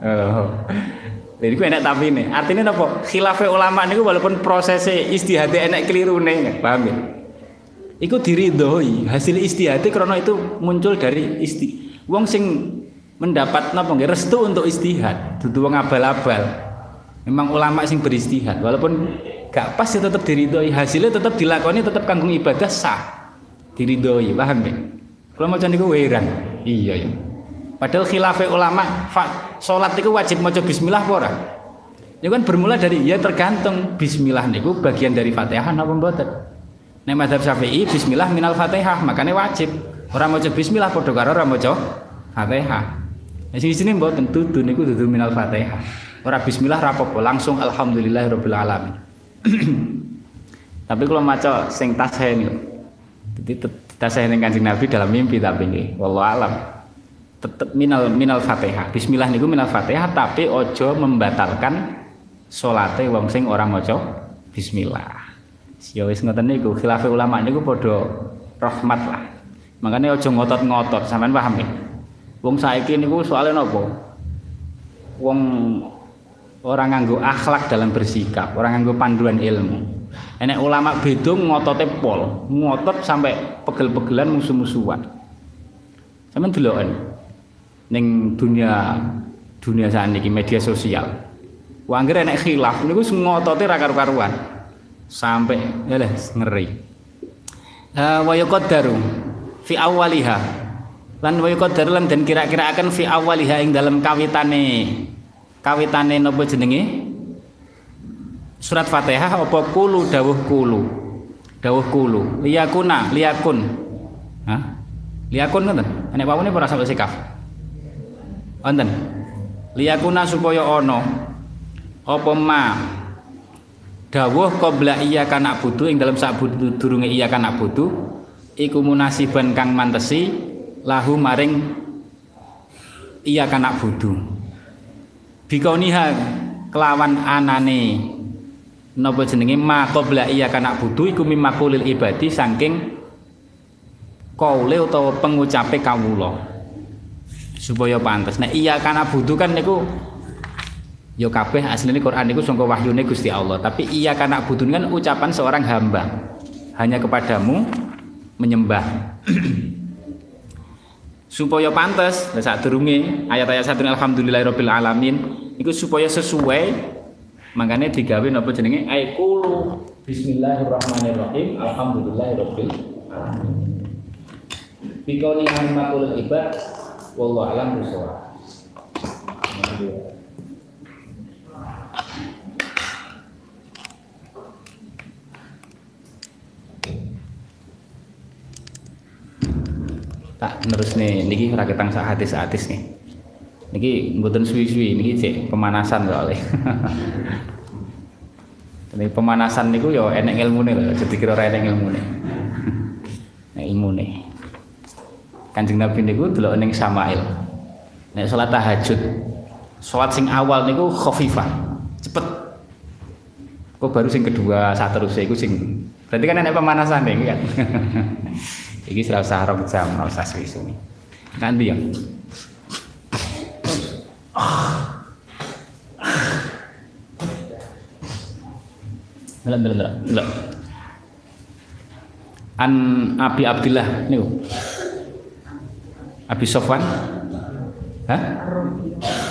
Jadi ku enak tapi ini, artinya apa? Khilafah ulama ini walaupun prosesnya istihadnya enak keliru nih, paham ya? Iku diridhoi hasil istihadnya karena itu muncul dari wong sing mendapat napa nggih restu untuk istihad, dudu wong abal-abal. Memang ulama sing beristihad, walaupun gak pas ya tetap diridhoi, hasilnya tetap dilakoni, tetap kanggo ibadah sah, diridhoi, paham ya? Kalau macam niku heran, iya ya. Padahal khilafah ulama salat itu wajib maca bismillah apa ora? Ya kan bermula dari ya tergantung bismillah niku bagian dari Fatihah napa mboten. Nek mazhab Syafi'i bismillah minal Fatihah, makanya wajib. Ora maca bismillah padha karo ora maca Fatihah. Nek sini mboten dudu niku dudu minal Fatihah. Ora bismillah ra apa-apa, langsung alhamdulillahirabbil alamin. Tapi kalau maca sing tasih niku. Dadi tasih ning Kanjeng Nabi dalam mimpi tapi nggih, wallahu alam. Tetap minal Fatihah. Bismillah niku minal Fatihah tapi ojo membatalkan salate wong sing ora maca bismillah. Ya wis ngoten niku khilafah ulama niku padha rahmat lah. Makanya ojo ngotot-ngotot, sampean paham ya? Wong saiki niku soalé napa? Wong ora nganggo akhlak dalam bersikap, ora nganggo panduan ilmu. Enek ulama beda ngotote pol, ngotot sampai pegel-pegelan musuh-musuhan. Sampeyan deloken ning dunia saniki media sosial. Wah anggere nek khilaf niku ngotote ra karu-karuan. Sampai ngeri. Wa yaqaddaru fi awwaliha. Lan wa yaqaddaru lan den kira-kira akan fi awwaliha ing dalam kawitane napa jenenge? Surat Fatihah apa kulu dawuh kulu. Liyakun. Hah? Liyakun ngoten. Nek wawune ora sampe sikaf. Wonten. Liyakuna supaya ana apa ma dawuh qabla iyyaka na'budu ing dalam sadurunge iyyaka na'budu iku munasiban kang mantesi lahu maring iyyaka na'budu. Bikauniha kelawan anane napa jenenge ma qabla iyyaka na'budu iku mimakulil ibadi saking kaule utawa pengucape kawula. Supaya pantes. Nah iya kana butuh kan niku ya kabeh asline Quran niku sangka wahyune Gusti Allah. Tapi iya kana butuh kan ucapan seorang hamba. Hanya kepadamu menyembah. Supaya pantes, nah sadurunge ayat-ayat sadurunge alhamdulillahirabbil alamin iku supaya sesuai makanya digawe napa jenenge aikulu bismillahirrahmanirrahim alhamdulillahirabbil alamin. Bikauni hanimatul ibad wallahu alam bisawab. Tak terus nih, niki ora ketang sak hadis nih. Niki mboten suwi-suwi, niki cek pemanasan soalnya. Ini pemanasan niku ya enek ilmune lho, jadi kira ora enek ilmune. ilmune. Kanjeng Nabi niku delok ning Samail. Nek salat tahajud, salat sing awal niku khafifah, cepet. Kok baru sing kedua saterusé iku sing berarti kan enek pemanasan iki kan. Iki ora usah 2 jam, ora usah suwi-suwi. Nanti ya. Delok. An Abi Abdillah niku. Abi Sofwan. Hah?